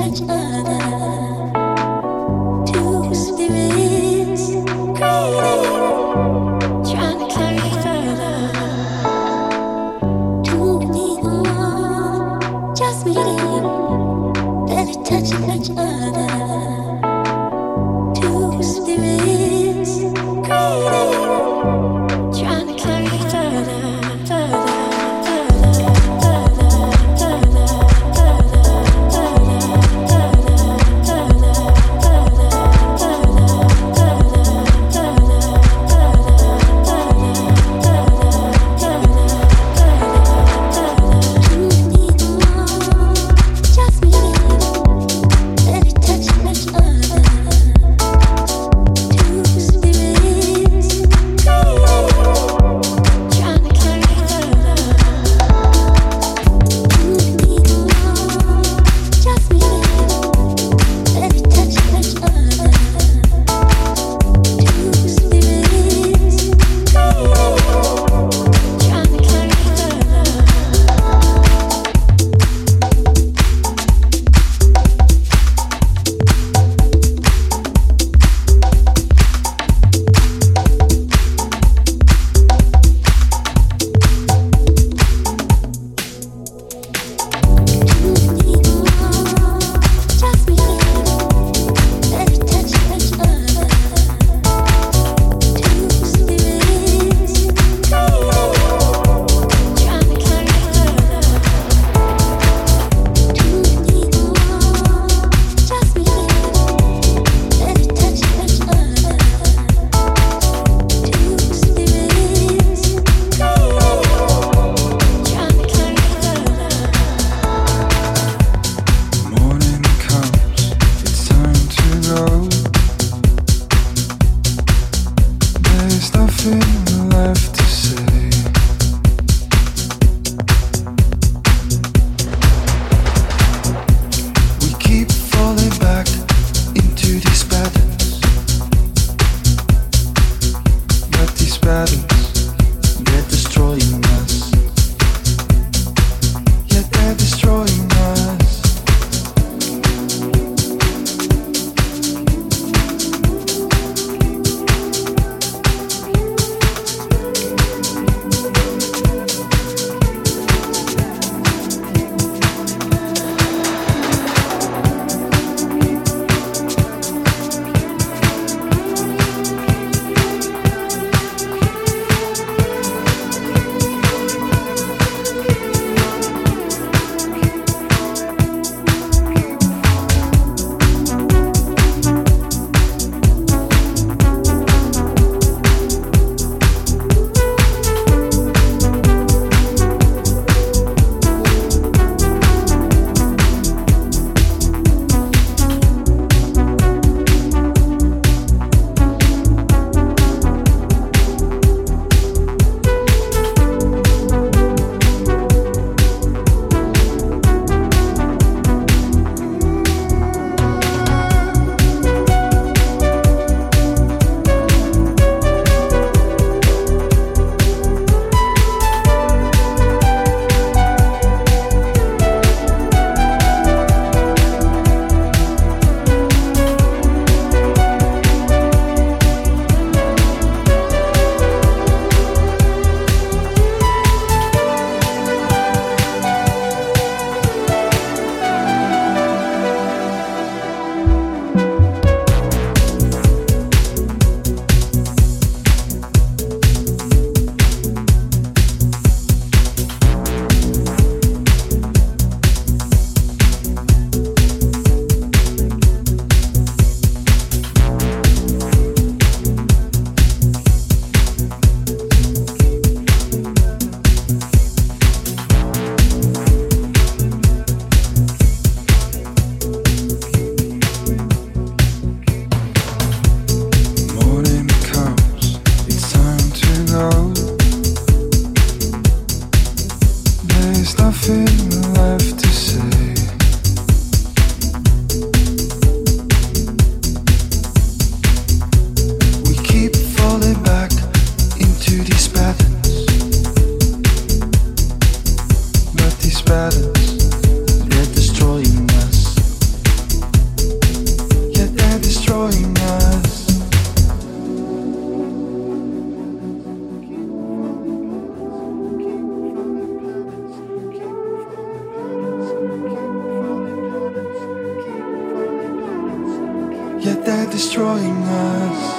Speaker 9: Touch
Speaker 6: yet they're destroying us.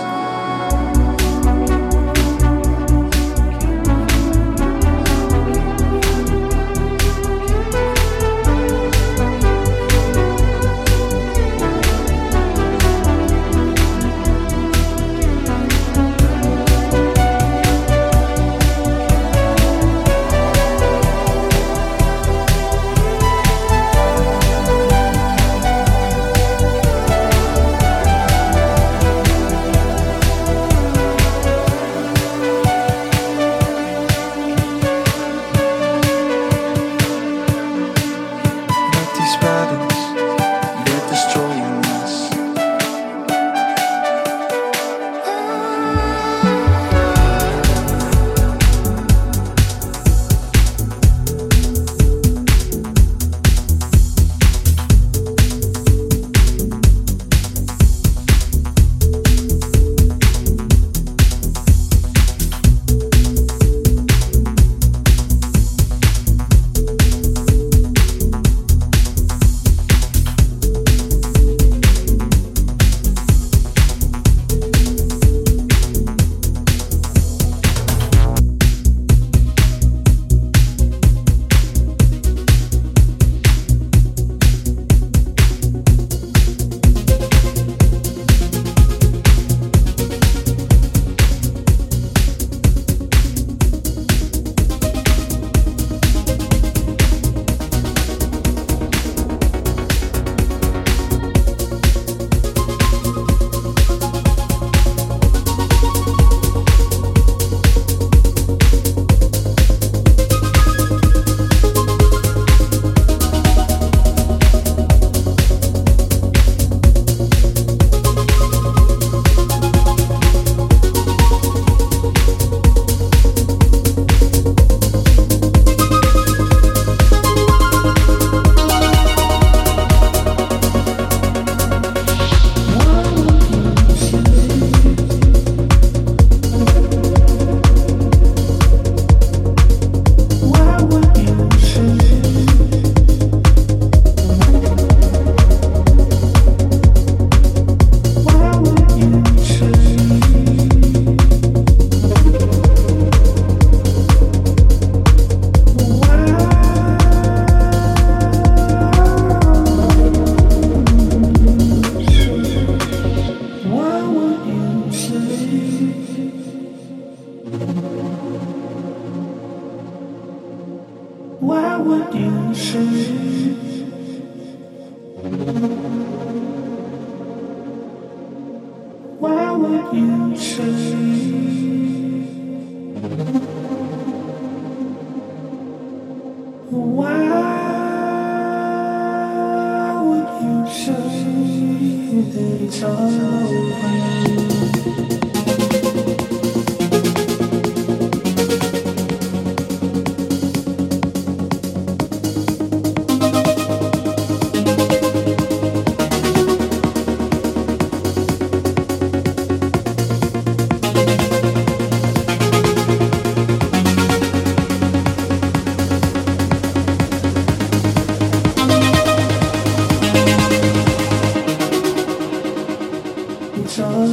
Speaker 9: It's all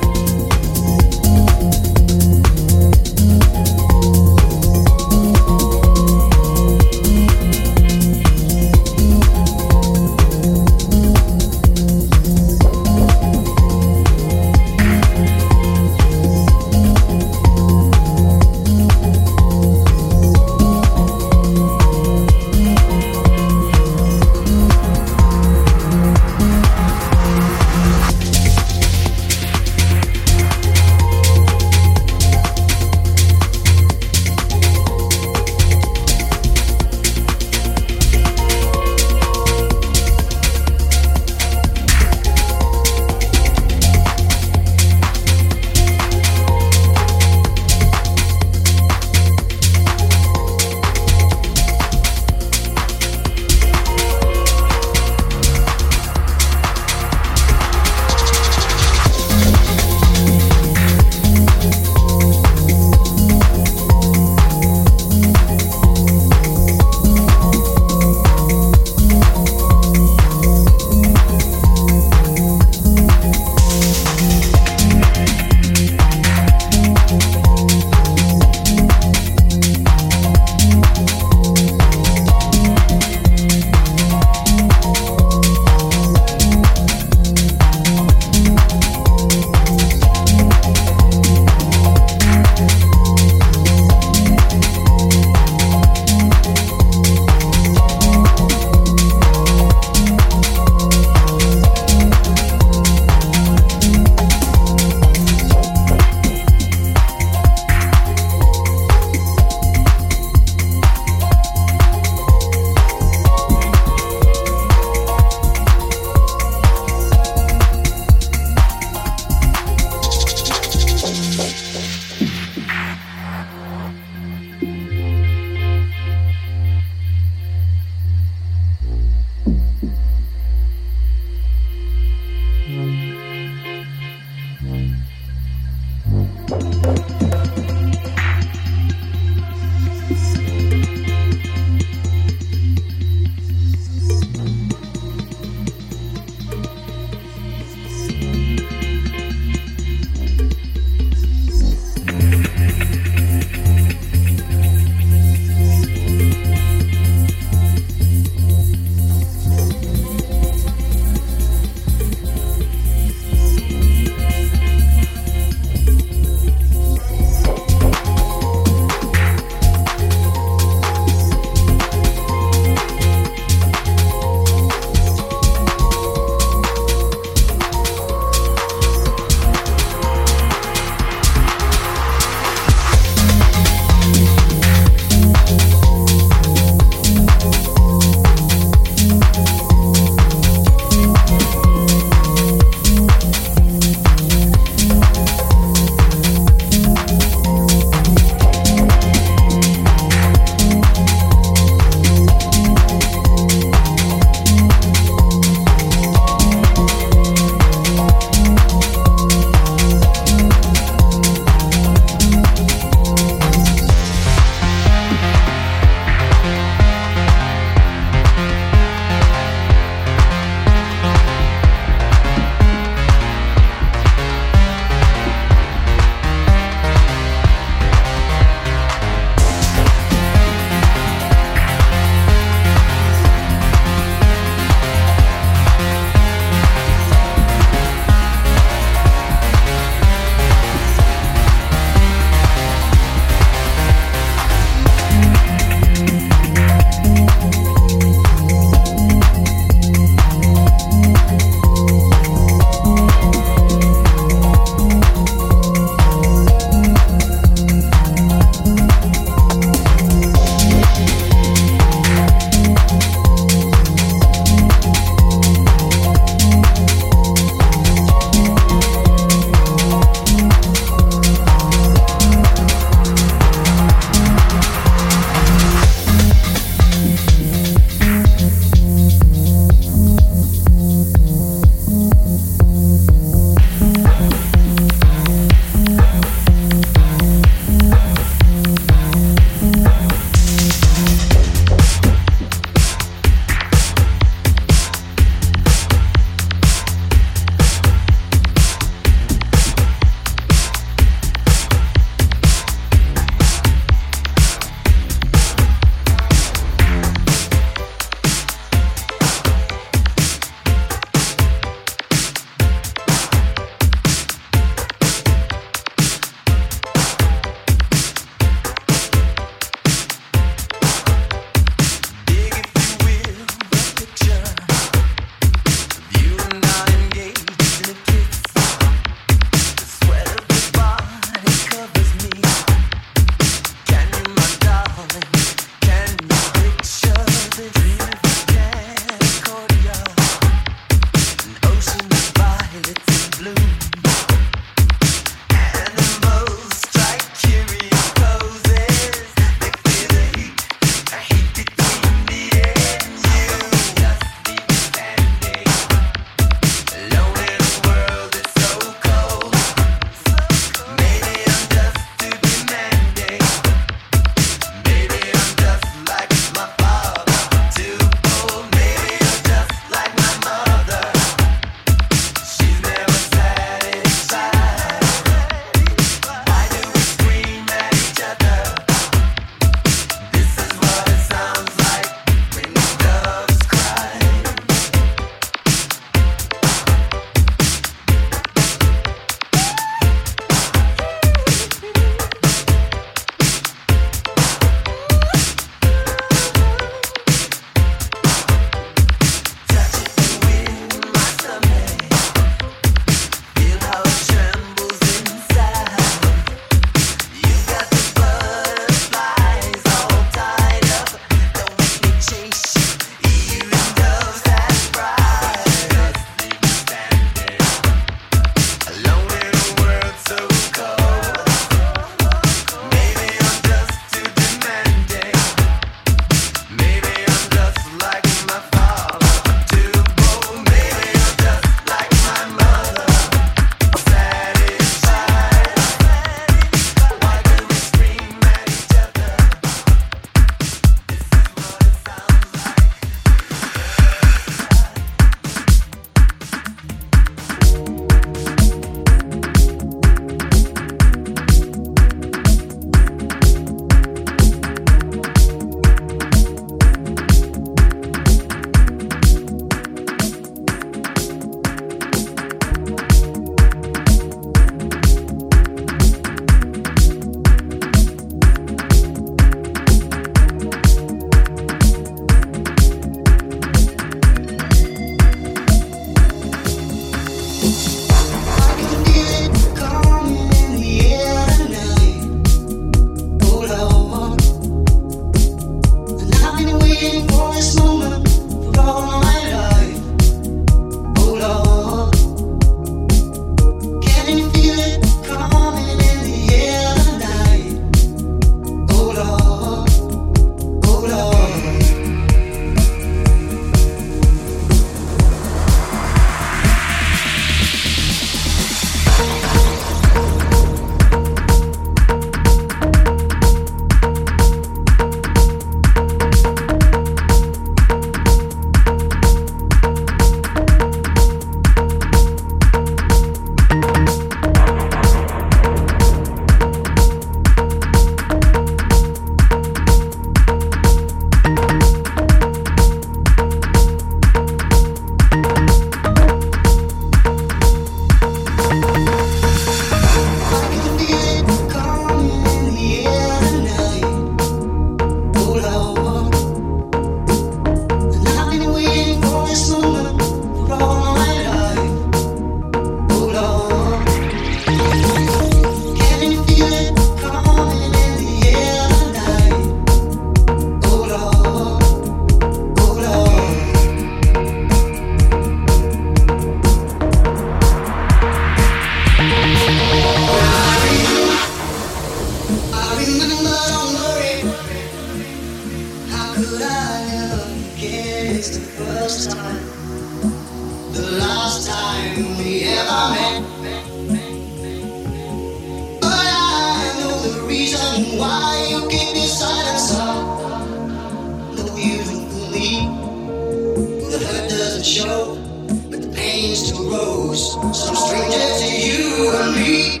Speaker 9: wondering why you keep your silence up. No, you don't fool me. The hurt doesn't show, but the pain still grows. Some stranger to you and me.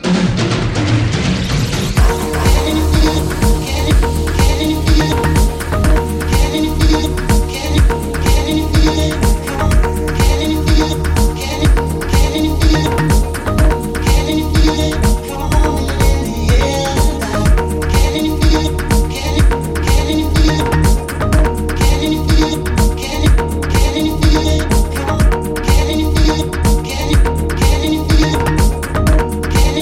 Speaker 10: Can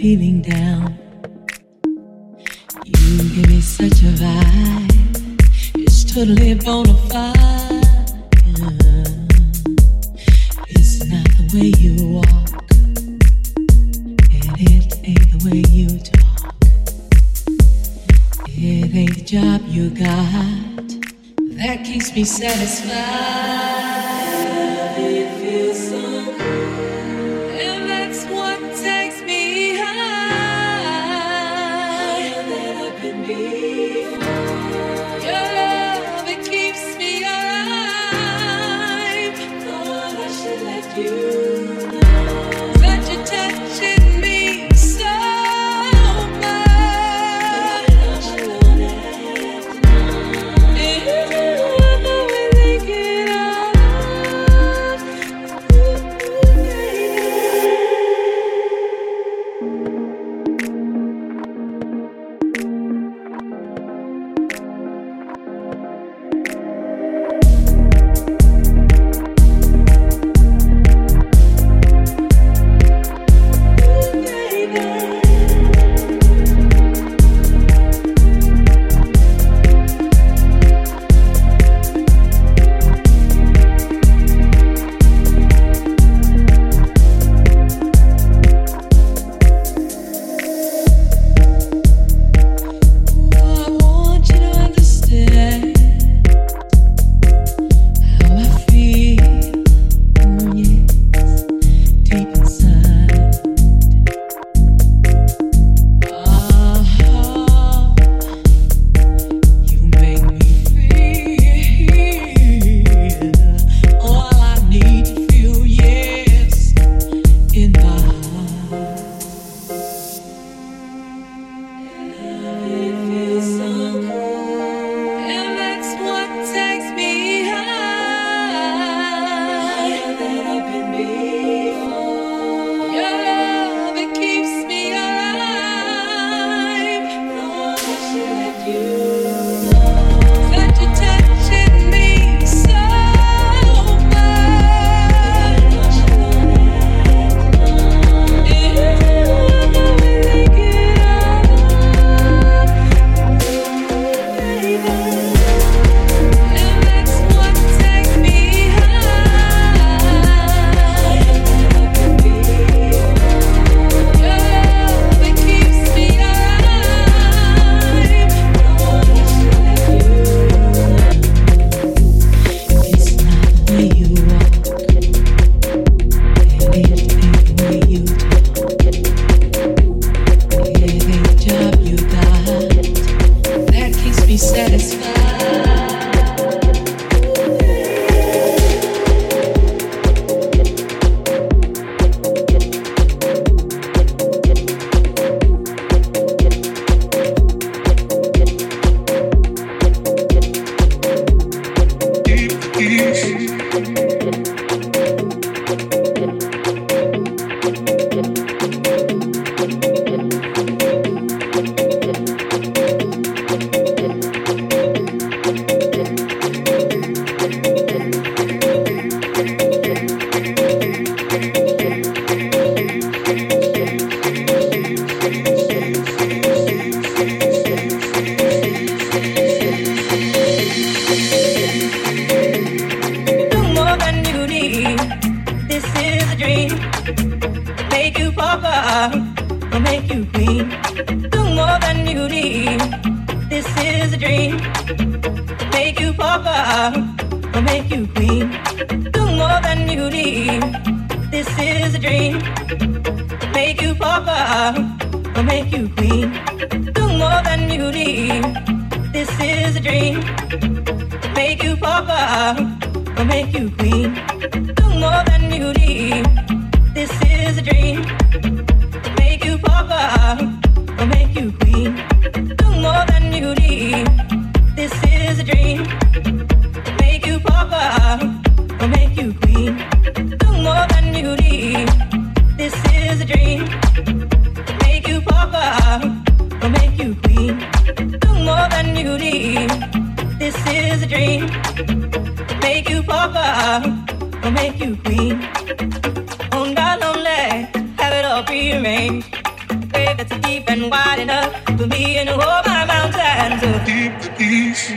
Speaker 10: feeling down. You give me such a vibe. It's totally bona fide. It's not the way you walk, and it ain't the way you talk. It ain't the job you got that keeps me satisfied. It feels so good, and that's what takes me higher than I've been before. Your love, it keeps me alive. Thought I should let you know that you're touching me so much.
Speaker 11: Prearranged.
Speaker 10: for me and all my mountains.
Speaker 6: Deep the east.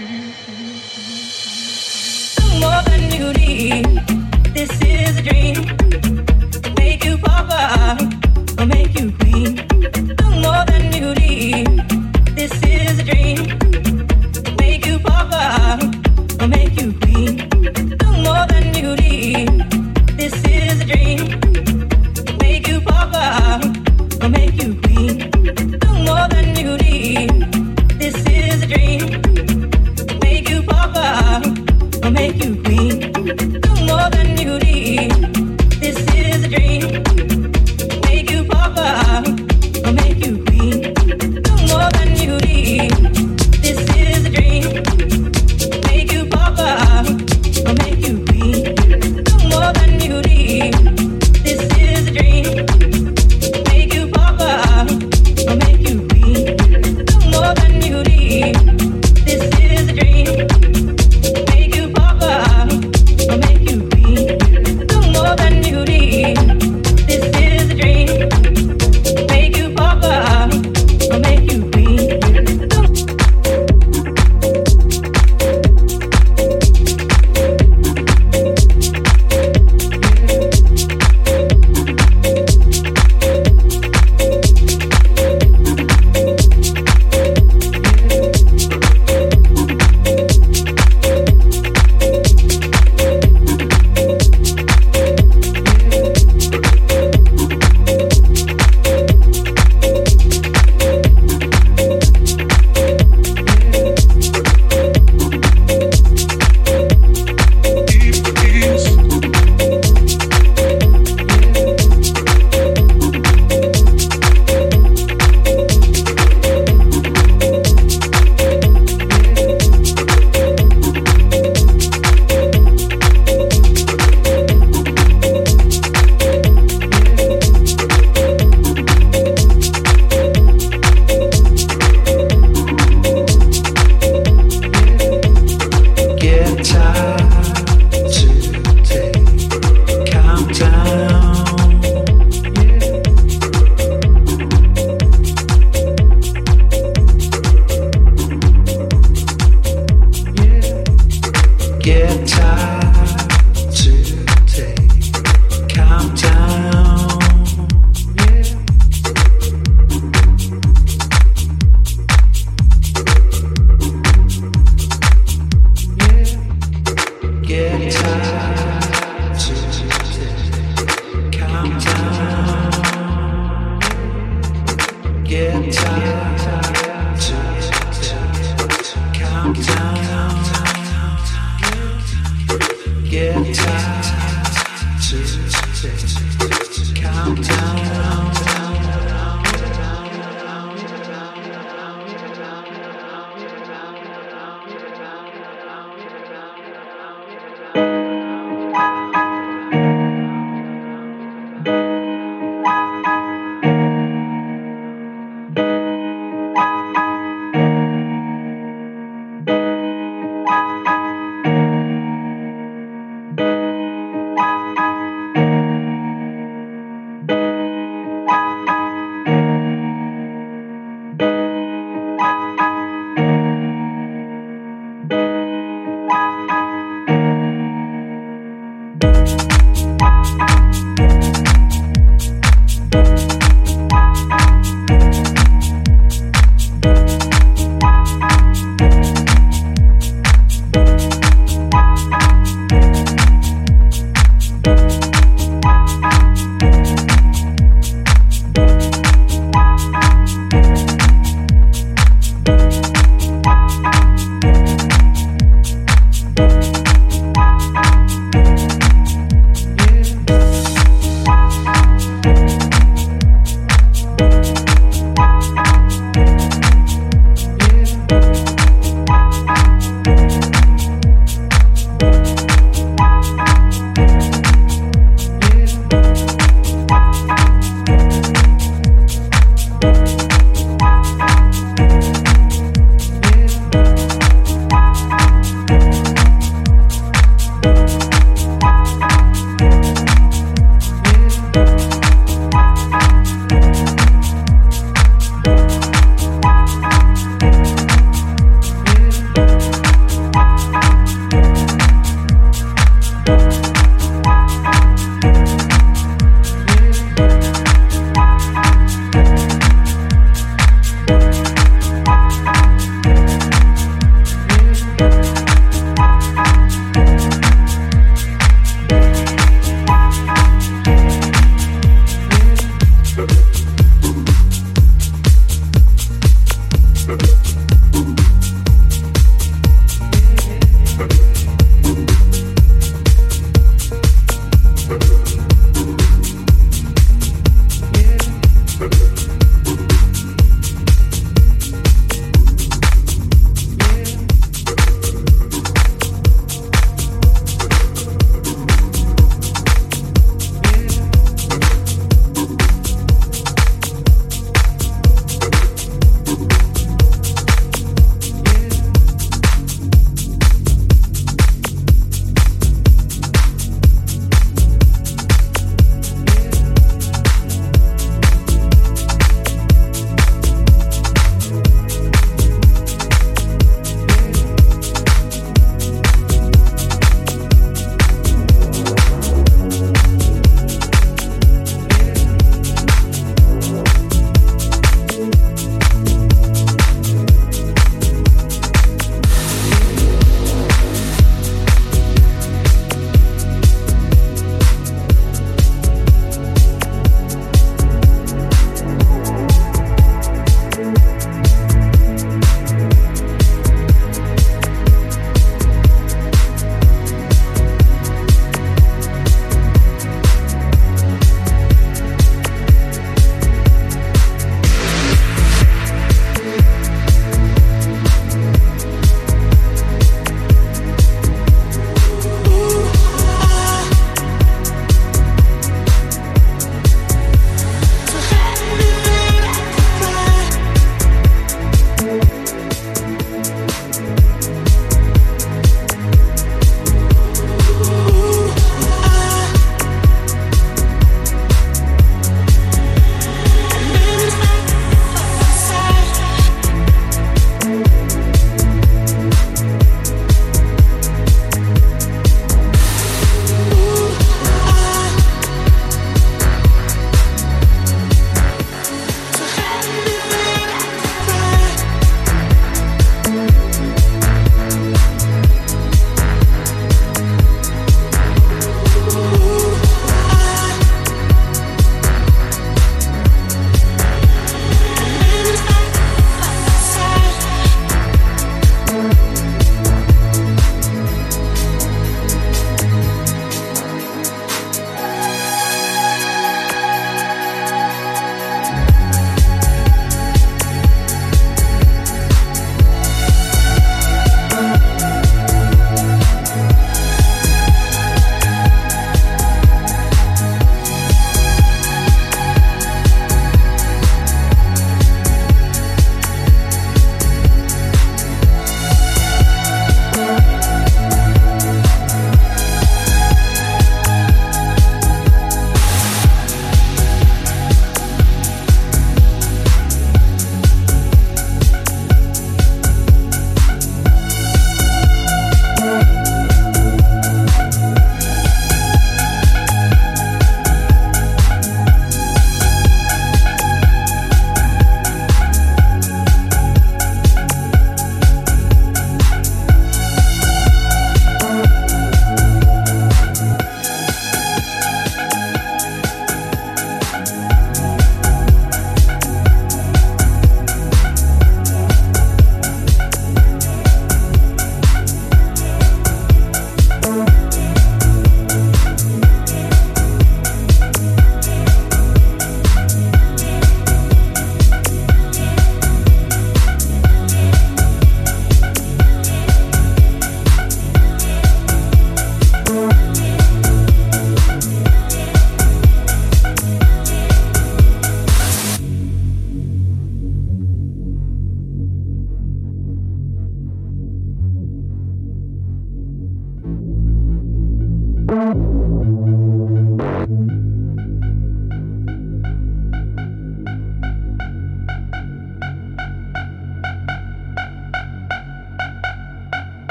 Speaker 10: More than you need. This is a dream. Make you papa or make you queen. More than you need. This is a dream. Make you papa or make you queen. More than you need. This is a dream. Make you papa or make you queen. More than you need. This is a dream. Make you papa or make you queen. More than you need. This is a dream. Make you papa or make you queen. More than you need. This is a dream. Make you papa or make you queen. More than you need. This is a dream. Make you papa or make you queen. More than you need. This is a dream. Make you papa or make you queen. More than you need. This is a dream. Make you papa or make you queen.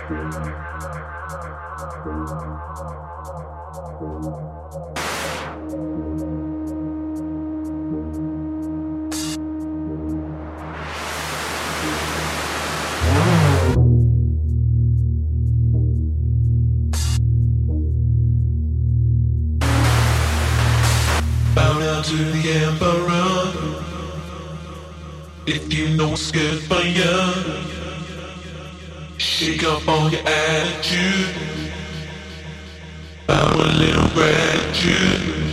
Speaker 6: Bow down to the emperor. If you know what's good for you, shake up all your attitude. Bow a little gratitude.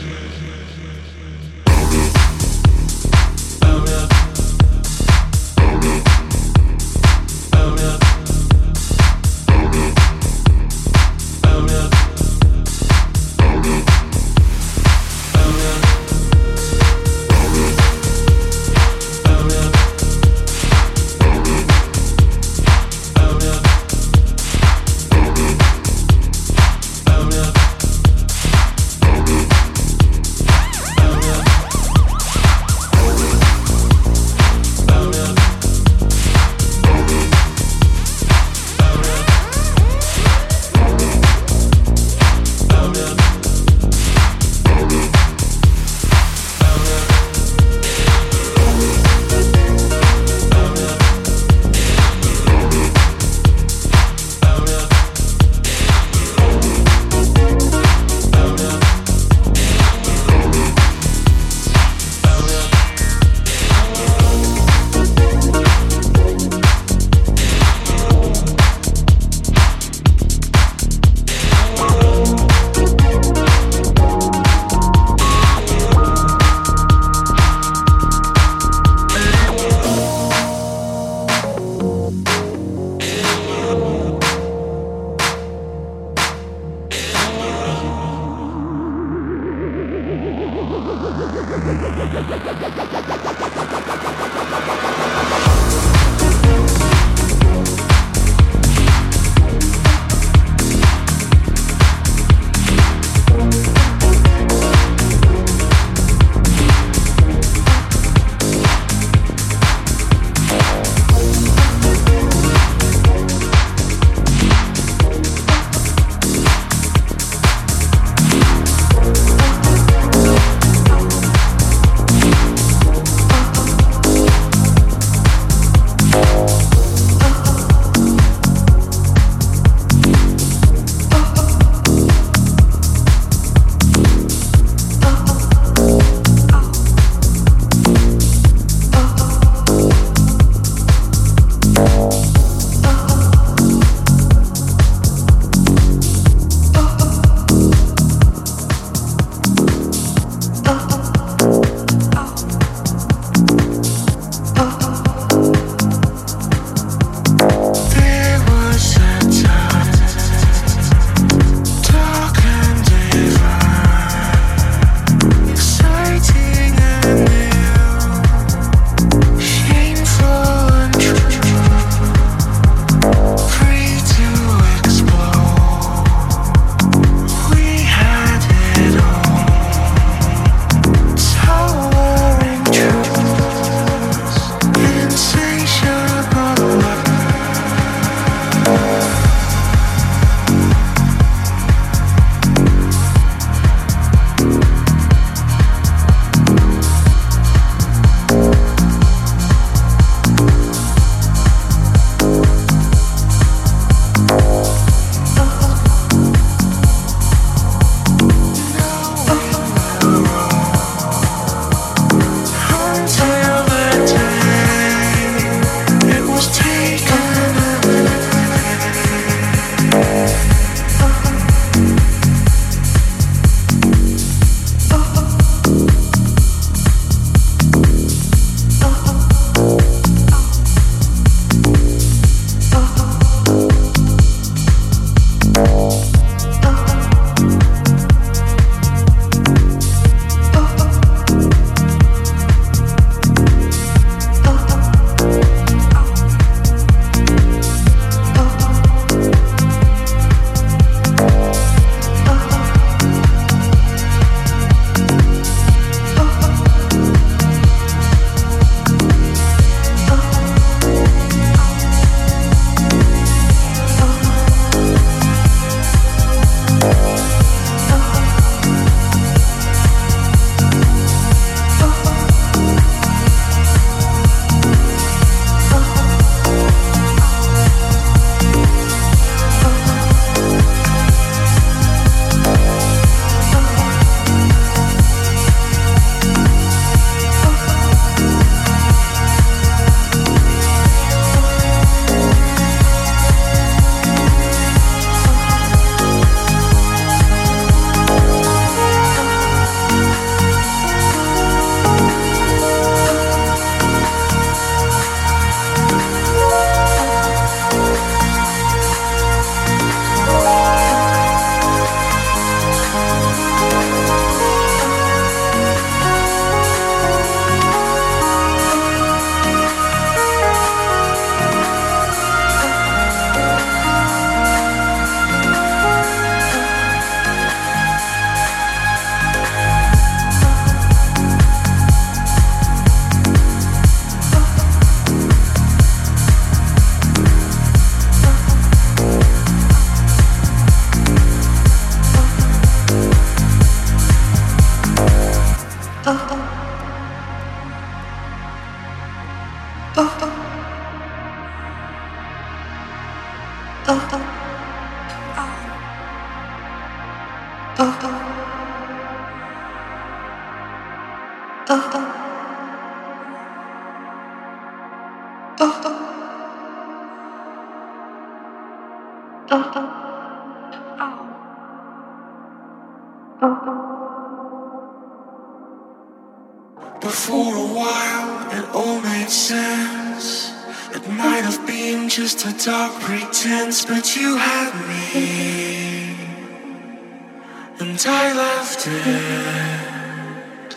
Speaker 6: But for a while it all made sense. It might have been just a dark pretense, but you had me, and I left it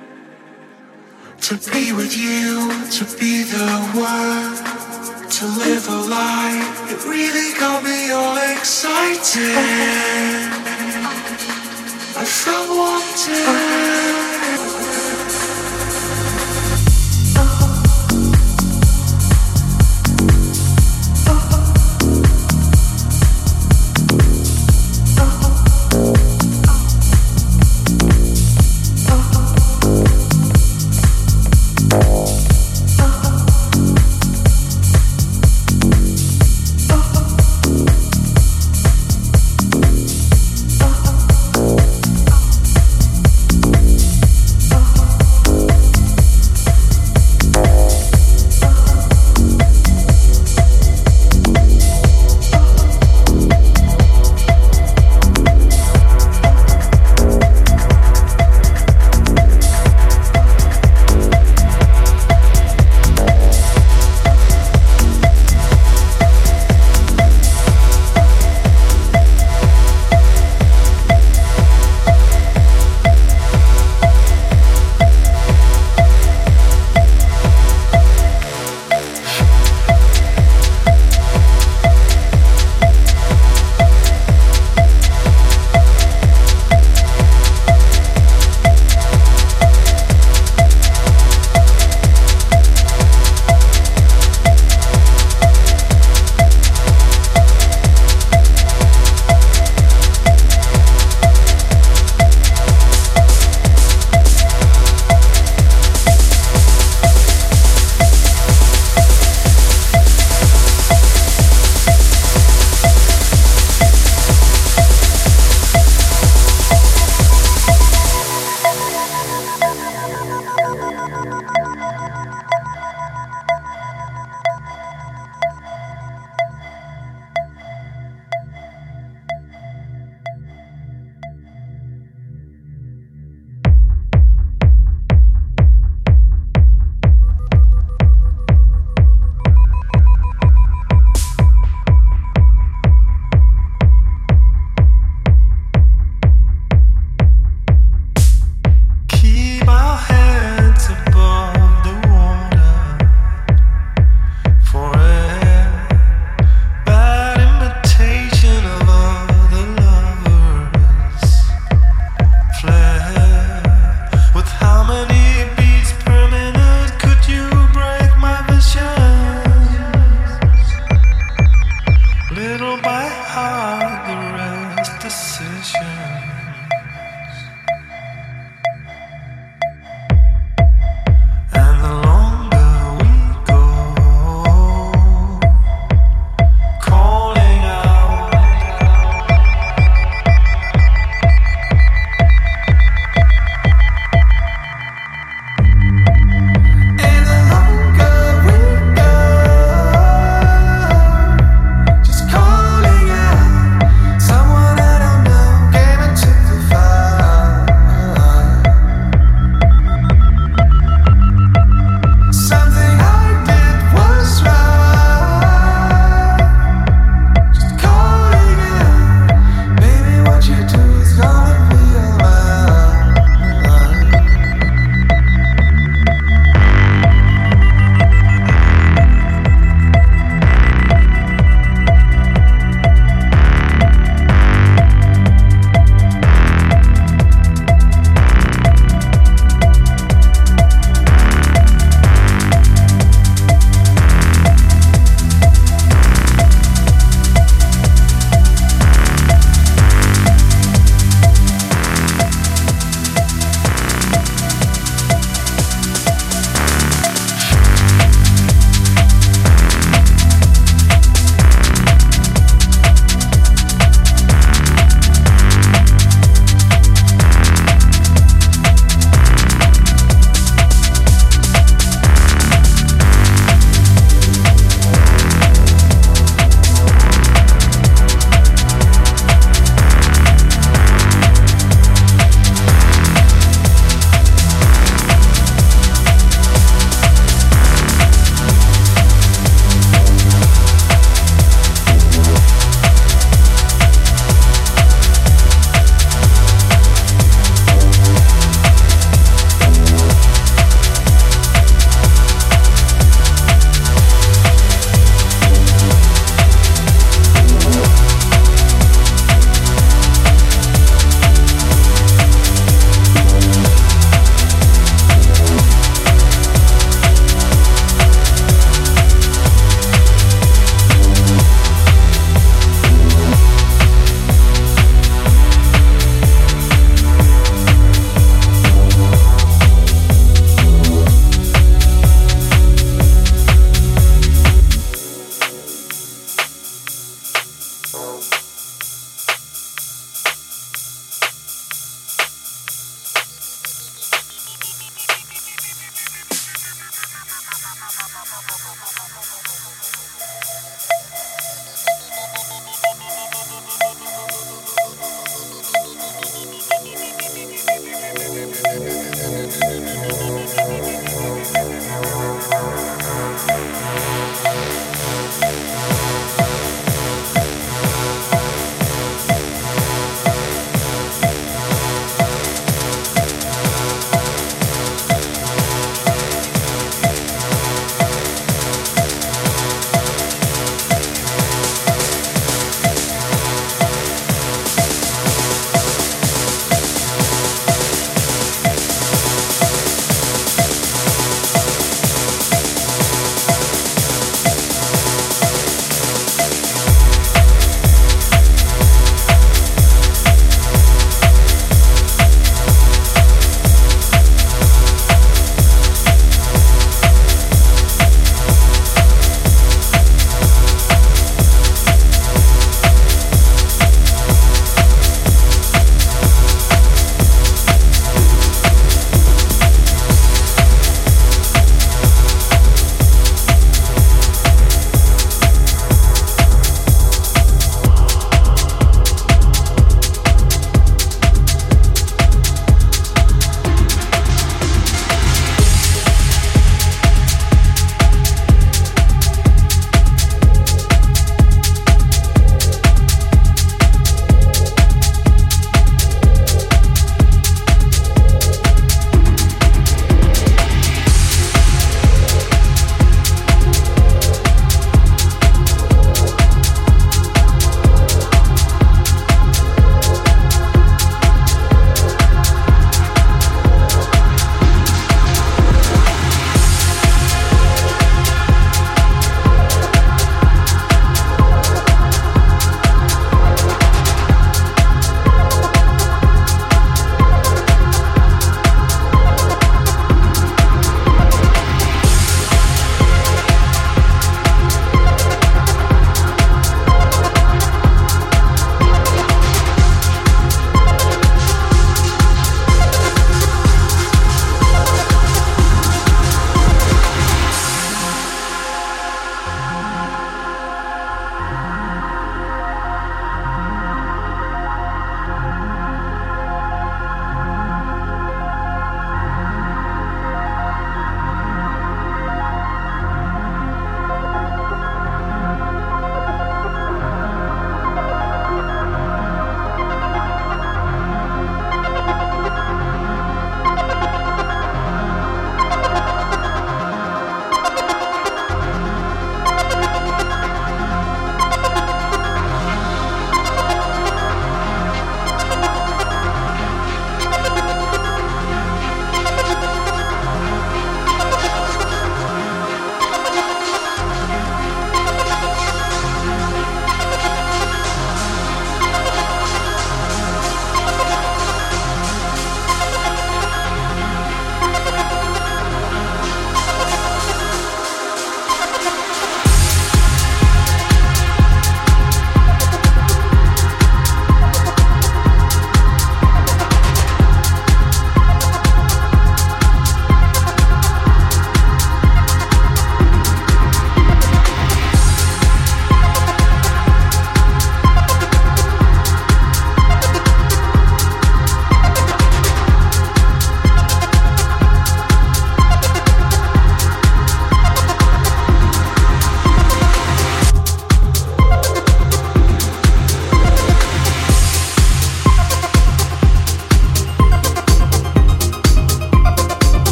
Speaker 6: to be with you, to be the one, to live a life. It really got me all excited. I felt wanted. Little by heart, the rest decision.